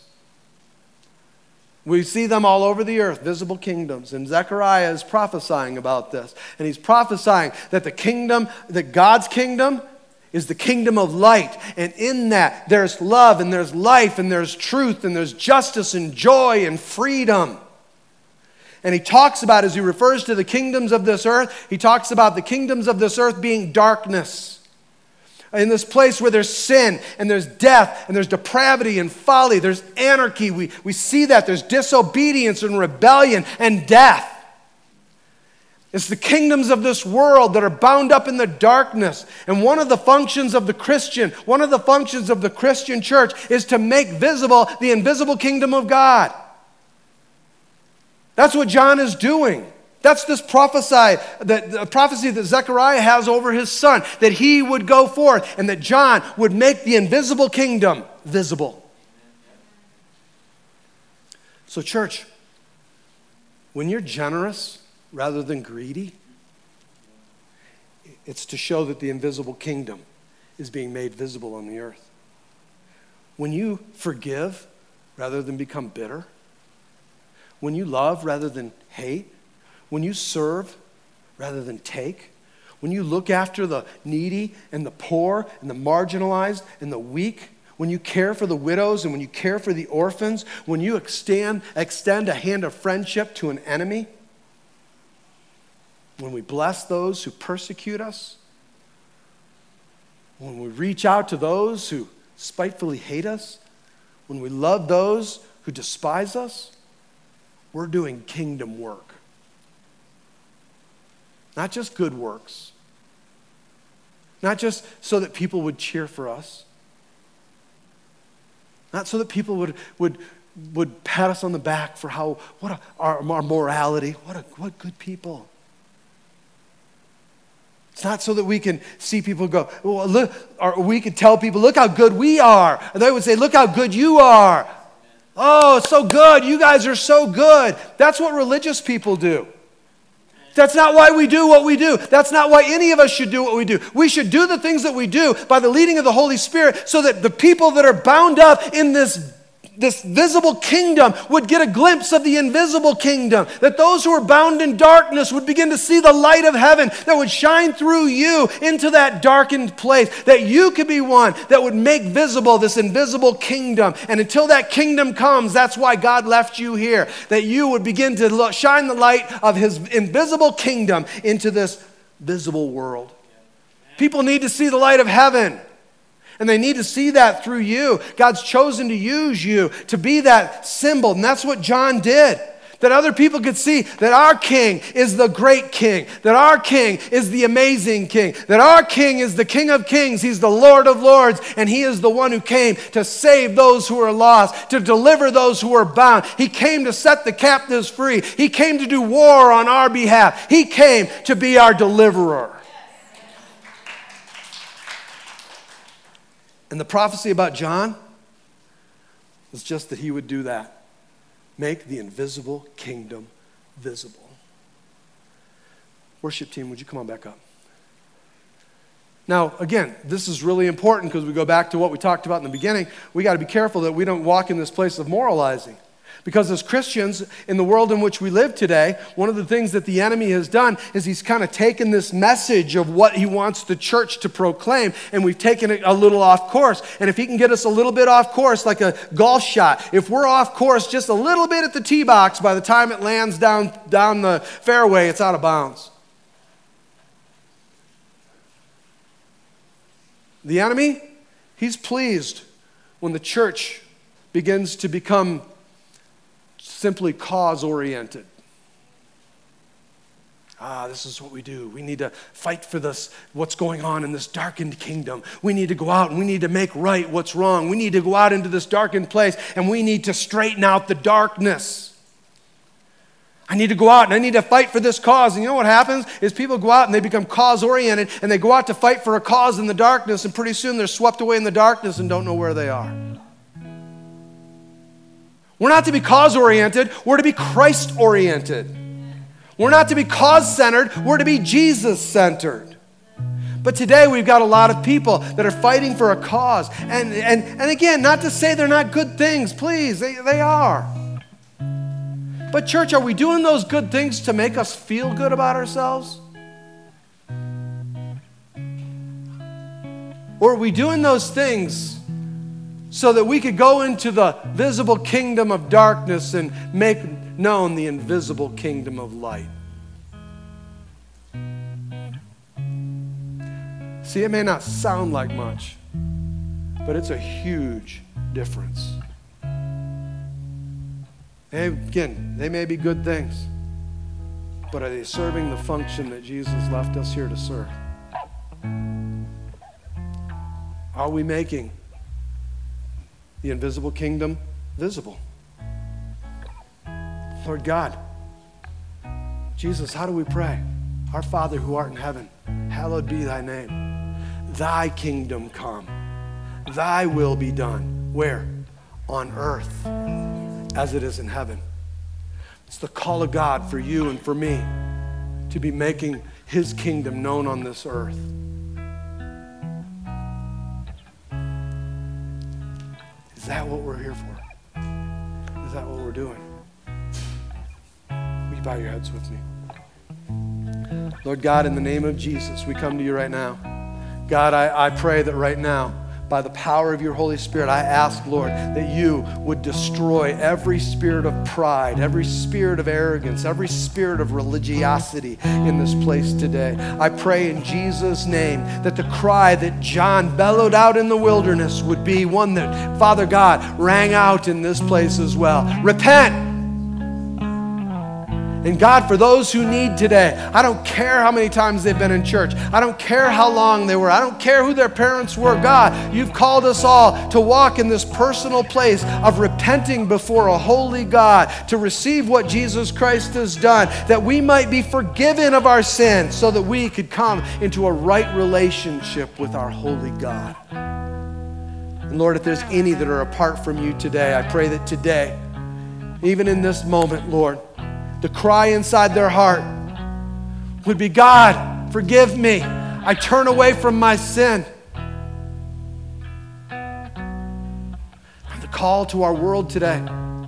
We see them all over the earth, visible kingdoms. And Zechariah is prophesying about this. And he's prophesying that the kingdom, that God's kingdom is the kingdom of light. And in that, there's love and there's life and there's truth and there's justice and joy and freedom. And he talks about, as he refers to the kingdoms of this earth, he talks about the kingdoms of this earth being darkness. In this place where there's sin and there's death and there's depravity and folly, there's anarchy. We, we see that. There's disobedience and rebellion and death. It's the kingdoms of this world that are bound up in the darkness. And one of the functions of the Christian, one of the functions of the Christian church is to make visible the invisible kingdom of God. That's what John is doing. That's this prophesy, that, the prophecy that Zechariah has over his son, that he would go forth and that John would make the invisible kingdom visible. So church, when you're generous rather than greedy, it's to show that the invisible kingdom is being made visible on the earth. When you forgive rather than become bitter, when you love rather than hate, when you serve rather than take, when you look after the needy and the poor and the marginalized and the weak, when you care for the widows and when you care for the orphans, when you extend, extend a hand of friendship to an enemy, when we bless those who persecute us, when we reach out to those who spitefully hate us, when we love those who despise us, we're doing kingdom work. Not just good works. Not just so that people would cheer for us. Not so that people would would would pat us on the back for how what a, our, our morality. What a what good people. It's not so that we can see people go, well, look, or we can tell people, look how good we are. Or they would say, look how good you are. Oh, it's so good. You guys are so good. That's what religious people do. That's not why we do what we do. That's not why any of us should do what we do. We should do the things that we do by the leading of the Holy Spirit so that the people that are bound up in this, this visible kingdom would get a glimpse of the invisible kingdom. That those who are bound in darkness would begin to see the light of heaven that would shine through you into that darkened place. That you could be one that would make visible this invisible kingdom. And until that kingdom comes, that's why God left you here. That you would begin to look, shine the light of his invisible kingdom into this visible world. People need to see the light of heaven. And they need to see that through you. God's chosen to use you to be that symbol. And that's what John did. that other people could see that our King is the great King, that our King is the amazing King, that our King is the King of kings, he's the Lord of lords, and he is the one who came to save those who are lost, to deliver those who are bound. He came to set the captives free. He came to do war on our behalf. He came to be our deliverer. And the prophecy about John was just that he would do that. Make the invisible kingdom visible. Worship team, would you come on back up? Now, again, this is really important because we go back to what we talked about in the beginning. We got to be careful that we don't walk in this place of moralizing. Because as Christians, in the world in which we live today, one of the things that the enemy has done is he's kind of taken this message of what he wants the church to proclaim, and we've taken it a little off course. And if he can get us a little bit off course, like a golf shot, if we're off course just a little bit at the tee box, by the time it lands down, down the fairway, it's out of bounds. The enemy, he's pleased when the church begins to become simply cause-oriented. Ah, this is what we do. We need to fight for this, what's going on in this darkened kingdom. We need to go out and we need to make right what's wrong. We need to go out into this darkened place and we need to straighten out the darkness. I need to go out and I need to fight for this cause. And you know what happens is people go out and they become cause-oriented and they go out to fight for a cause in the darkness, and pretty soon they're swept away in the darkness and don't know where they are. We're not to be cause-oriented, we're to be Christ-oriented. We're not to be cause-centered, we're to be Jesus-centered. But today we've got a lot of people that are fighting for a cause. And, and, and again, not to say they're not good things, please, they, they are. But church, are we doing those good things to make us feel good about ourselves? Or are we doing those things so that we could go into the visible kingdom of darkness and make known the invisible kingdom of light? See, it may not sound like much, but it's a huge difference. Hey, again, they may be good things, but are they serving the function that Jesus left us here to serve? Are we making the invisible kingdom visible? Lord God, Jesus, how do we pray? Our Father who art in heaven, hallowed be thy name. Thy kingdom come. Thy will be done. Where? On earth as it is in heaven. It's the call of God for you and for me to be making his kingdom known on this earth. Is that what we're here for? Is that what we're doing? Will you bow your heads with me? Lord God, in the name of Jesus, we come to you right now. God, I, I pray that right now, by the power of your Holy Spirit, I ask, Lord, that you would destroy every spirit of pride, every spirit of arrogance, every spirit of religiosity in this place today. I pray in Jesus' name that the cry that John bellowed out in the wilderness would be one that, Father God, rang out in this place as well. Repent! And God, for those who need today, I don't care how many times they've been in church. I don't care how long they were. I don't care who their parents were. God, you've called us all to walk in this personal place of repenting before a holy God, to receive what Jesus Christ has done, that we might be forgiven of our sins so that we could come into a right relationship with our holy God. And Lord, if there's any that are apart from you today, I pray that today, even in this moment, Lord, the cry inside their heart would be, God, forgive me. I turn away from my sin. And the call to our world today,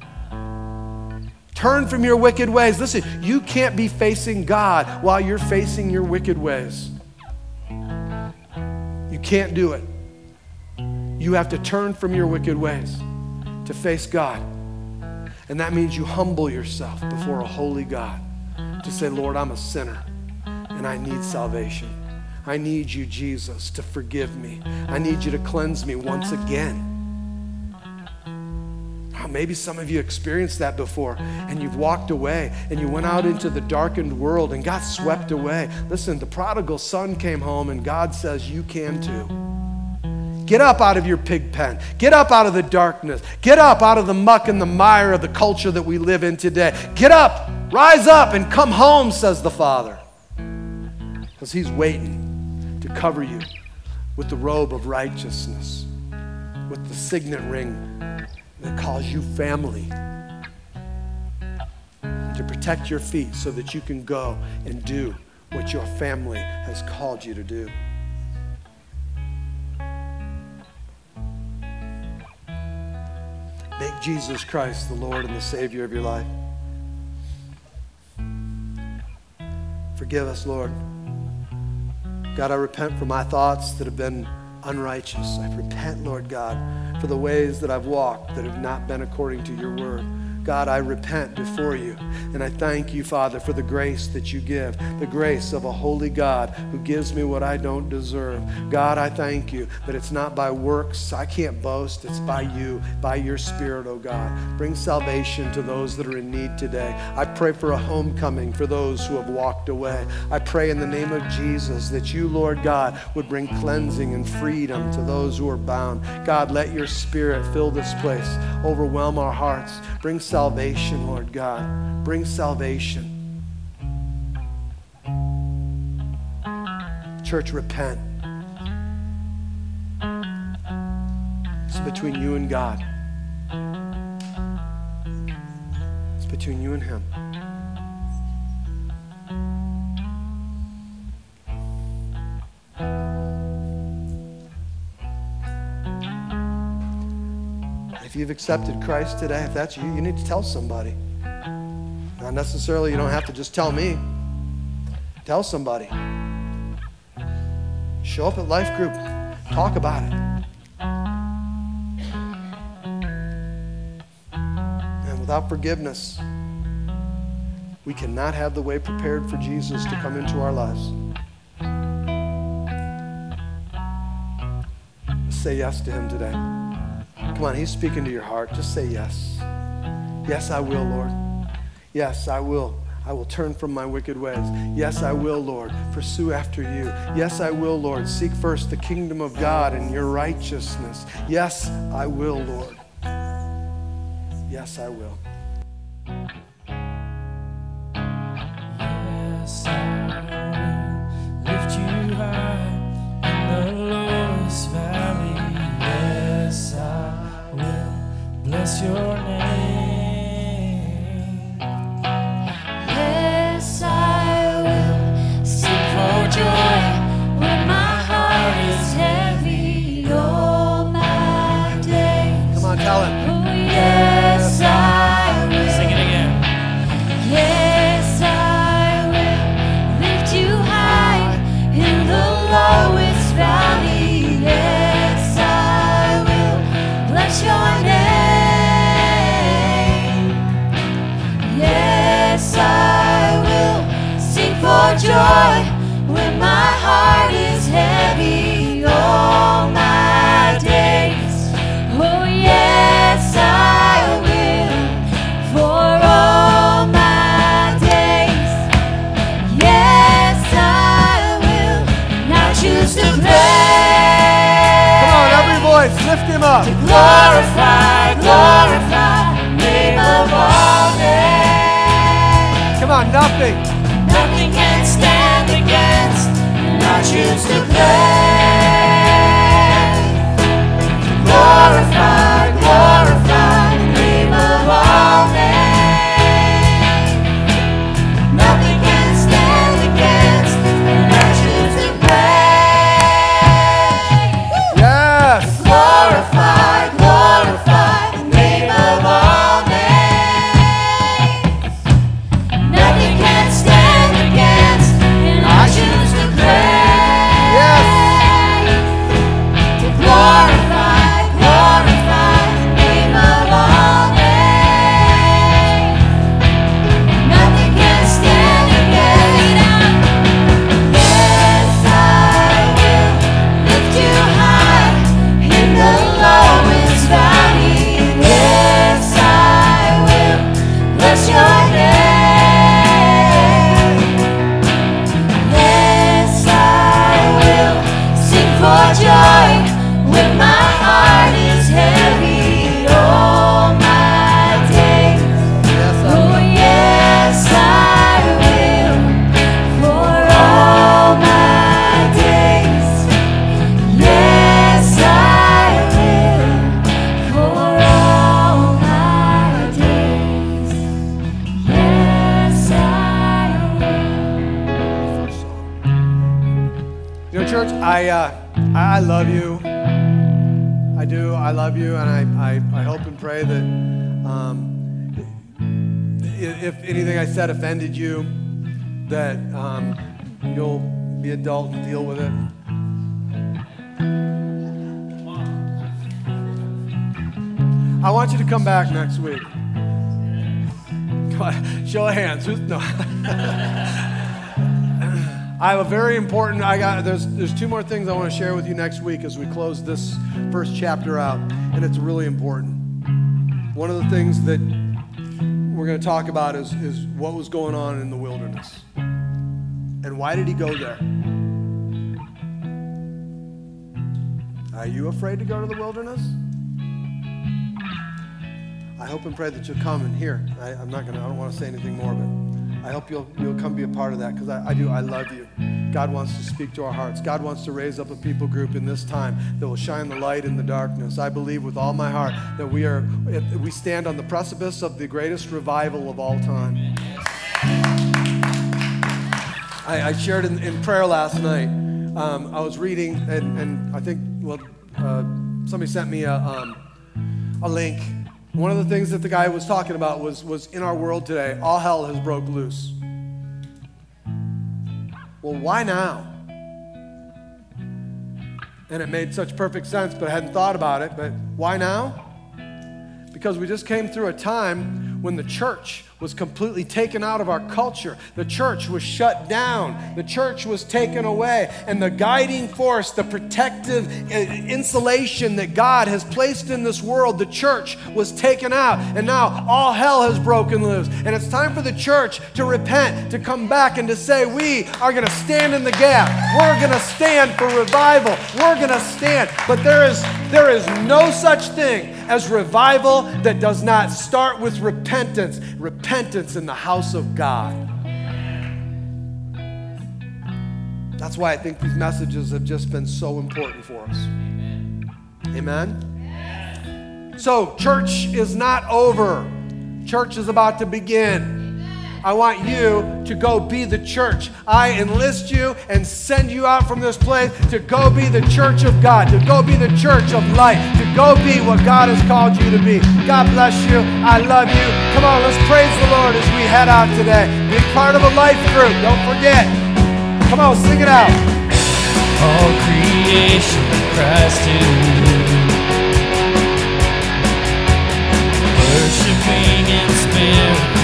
turn from your wicked ways. Listen, you can't be facing God while you're facing your wicked ways. You can't do it. You have to turn from your wicked ways to face God. And that means you humble yourself before a holy God to say, Lord, I'm a sinner and I need salvation. I need you, Jesus, to forgive me. I need you to cleanse me once again. I'm maybe some of you experienced that before, and you've walked away, and you went out into the darkened world and got swept away. Listen, the prodigal son came home, and God says, you can too. Get up out of your pig pen. Get up out of the darkness. Get up out of the muck and the mire of the culture that we live in today. Get up, rise up, and come home, says the Father. Because he's waiting to cover you with the robe of righteousness, with the signet ring that calls you family, to protect your feet so that you can go and do what your family has called you to do. Make Jesus Christ the Lord and the Savior of your life. Forgive us, Lord. God, I repent for my thoughts that have been unrighteous. I repent, Lord God, for the ways that I've walked that have not been according to your word. God, I repent before you, and I thank you, Father, for the grace that you give, the grace of a holy God who gives me what I don't deserve. God, I thank you that it's not by works. I can't boast. It's by you, by your Spirit, oh God. Bring salvation to those that are in need today. I pray for a homecoming for those who have walked away. I pray in the name of Jesus that you, Lord God, would bring cleansing and freedom to those who are bound. God, let your Spirit fill this place, overwhelm our hearts. Bring salvation, Lord God. Bring salvation. Church, repent. It's between you and God. It's between you and him. If you've accepted Christ today, if that's you, you need to tell somebody. Not necessarily, you don't have to just tell me. Tell somebody. Show up at Life Group. Talk about it. And without forgiveness, we cannot have the way prepared for Jesus to come into our lives. Say yes to him today. Come on, he's speaking to your heart. Just say yes. Yes, I will, Lord. Yes, I will. I will turn from my wicked ways. Yes, I will, Lord, pursue after you. Yes, I will, Lord, seek first the kingdom of God and your righteousness. Yes, I will, Lord. Yes, I will. Yes, I will lift you high in the lowest valley. Yes, I will bless your name. Yes, I will sing for joy when my heart is heavy all my days. Come on, tell him. Oh, yes, I will. Sing it again. Yes, I will lift you high in the lowest valley. Yes, I will bless your name. Yes, I will sing for joy when my heart is heavy all my days. Oh, yes, I will for all my days. Yes, I will now choose to praise. Come on, every voice, lift him up. Glorify, glorify the name of all names. Come on, nothing. Nothing can stand against, and I choose to praise. Glorify, glorify the name of all names. Nothing can stand against, and I choose to praise. Yes. Glorify, glorify the name of all names. Nothing can stand against, and I choose to praise. Yes. To glorify, glorify church, I, uh, I love you. I do. I love you, and I, I, I hope and pray that um, if anything I said offended you, that um, you'll be adult and deal with it. I want you to come back next week. Come on, show of hands. Who's, no. I have a very important, I got, there's, there's two more things I want to share with you next week as we close this first chapter out, and it's really important. One of the things that we're going to talk about is, is what was going on in the wilderness. And why did he go there? Are you afraid to go to the wilderness? I hope and pray that you'll come and hear. I, I'm not going to, I don't want to say anything more, but I hope you'll, you'll come be a part of that, because I, I do, I love you. God wants to speak to our hearts. God wants to raise up a people group in this time that will shine the light in the darkness. I believe with all my heart that we are, we stand on the precipice of the greatest revival of all time. I, I shared in, in prayer last night. Um, I was reading, and, and I think, well, uh, somebody sent me a, um, a link. One of the things that the guy was talking about was, was in our world today, all hell has broke loose. Well, why now? And it made such perfect sense, but I hadn't thought about it. But why now? Because we just came through a time when the church was completely taken out of our culture. The church was shut down. The church was taken away. And the guiding force, the protective insulation that God has placed in this world, the church was taken out. And now all hell has broken loose. And it's time for the church to repent, to come back and to say, we are going to stand in the gap. We're going to stand for revival. We're going to stand. But there is, there is no such thing as revival that does not start with repentance. Repentance in the house of God. That's why I think these messages have just been so important for us. Amen? Amen? So, church is not over. Church is about to begin. I want you to go be the church. I enlist you and send you out from this place to go be the church of God, to go be the church of light, to go be what God has called you to be. God bless you. I love you. Come on, let's praise the Lord as we head out today. Be part of a life group. Don't forget. Come on, sing it out. All creation cries to you, worshiping in spirit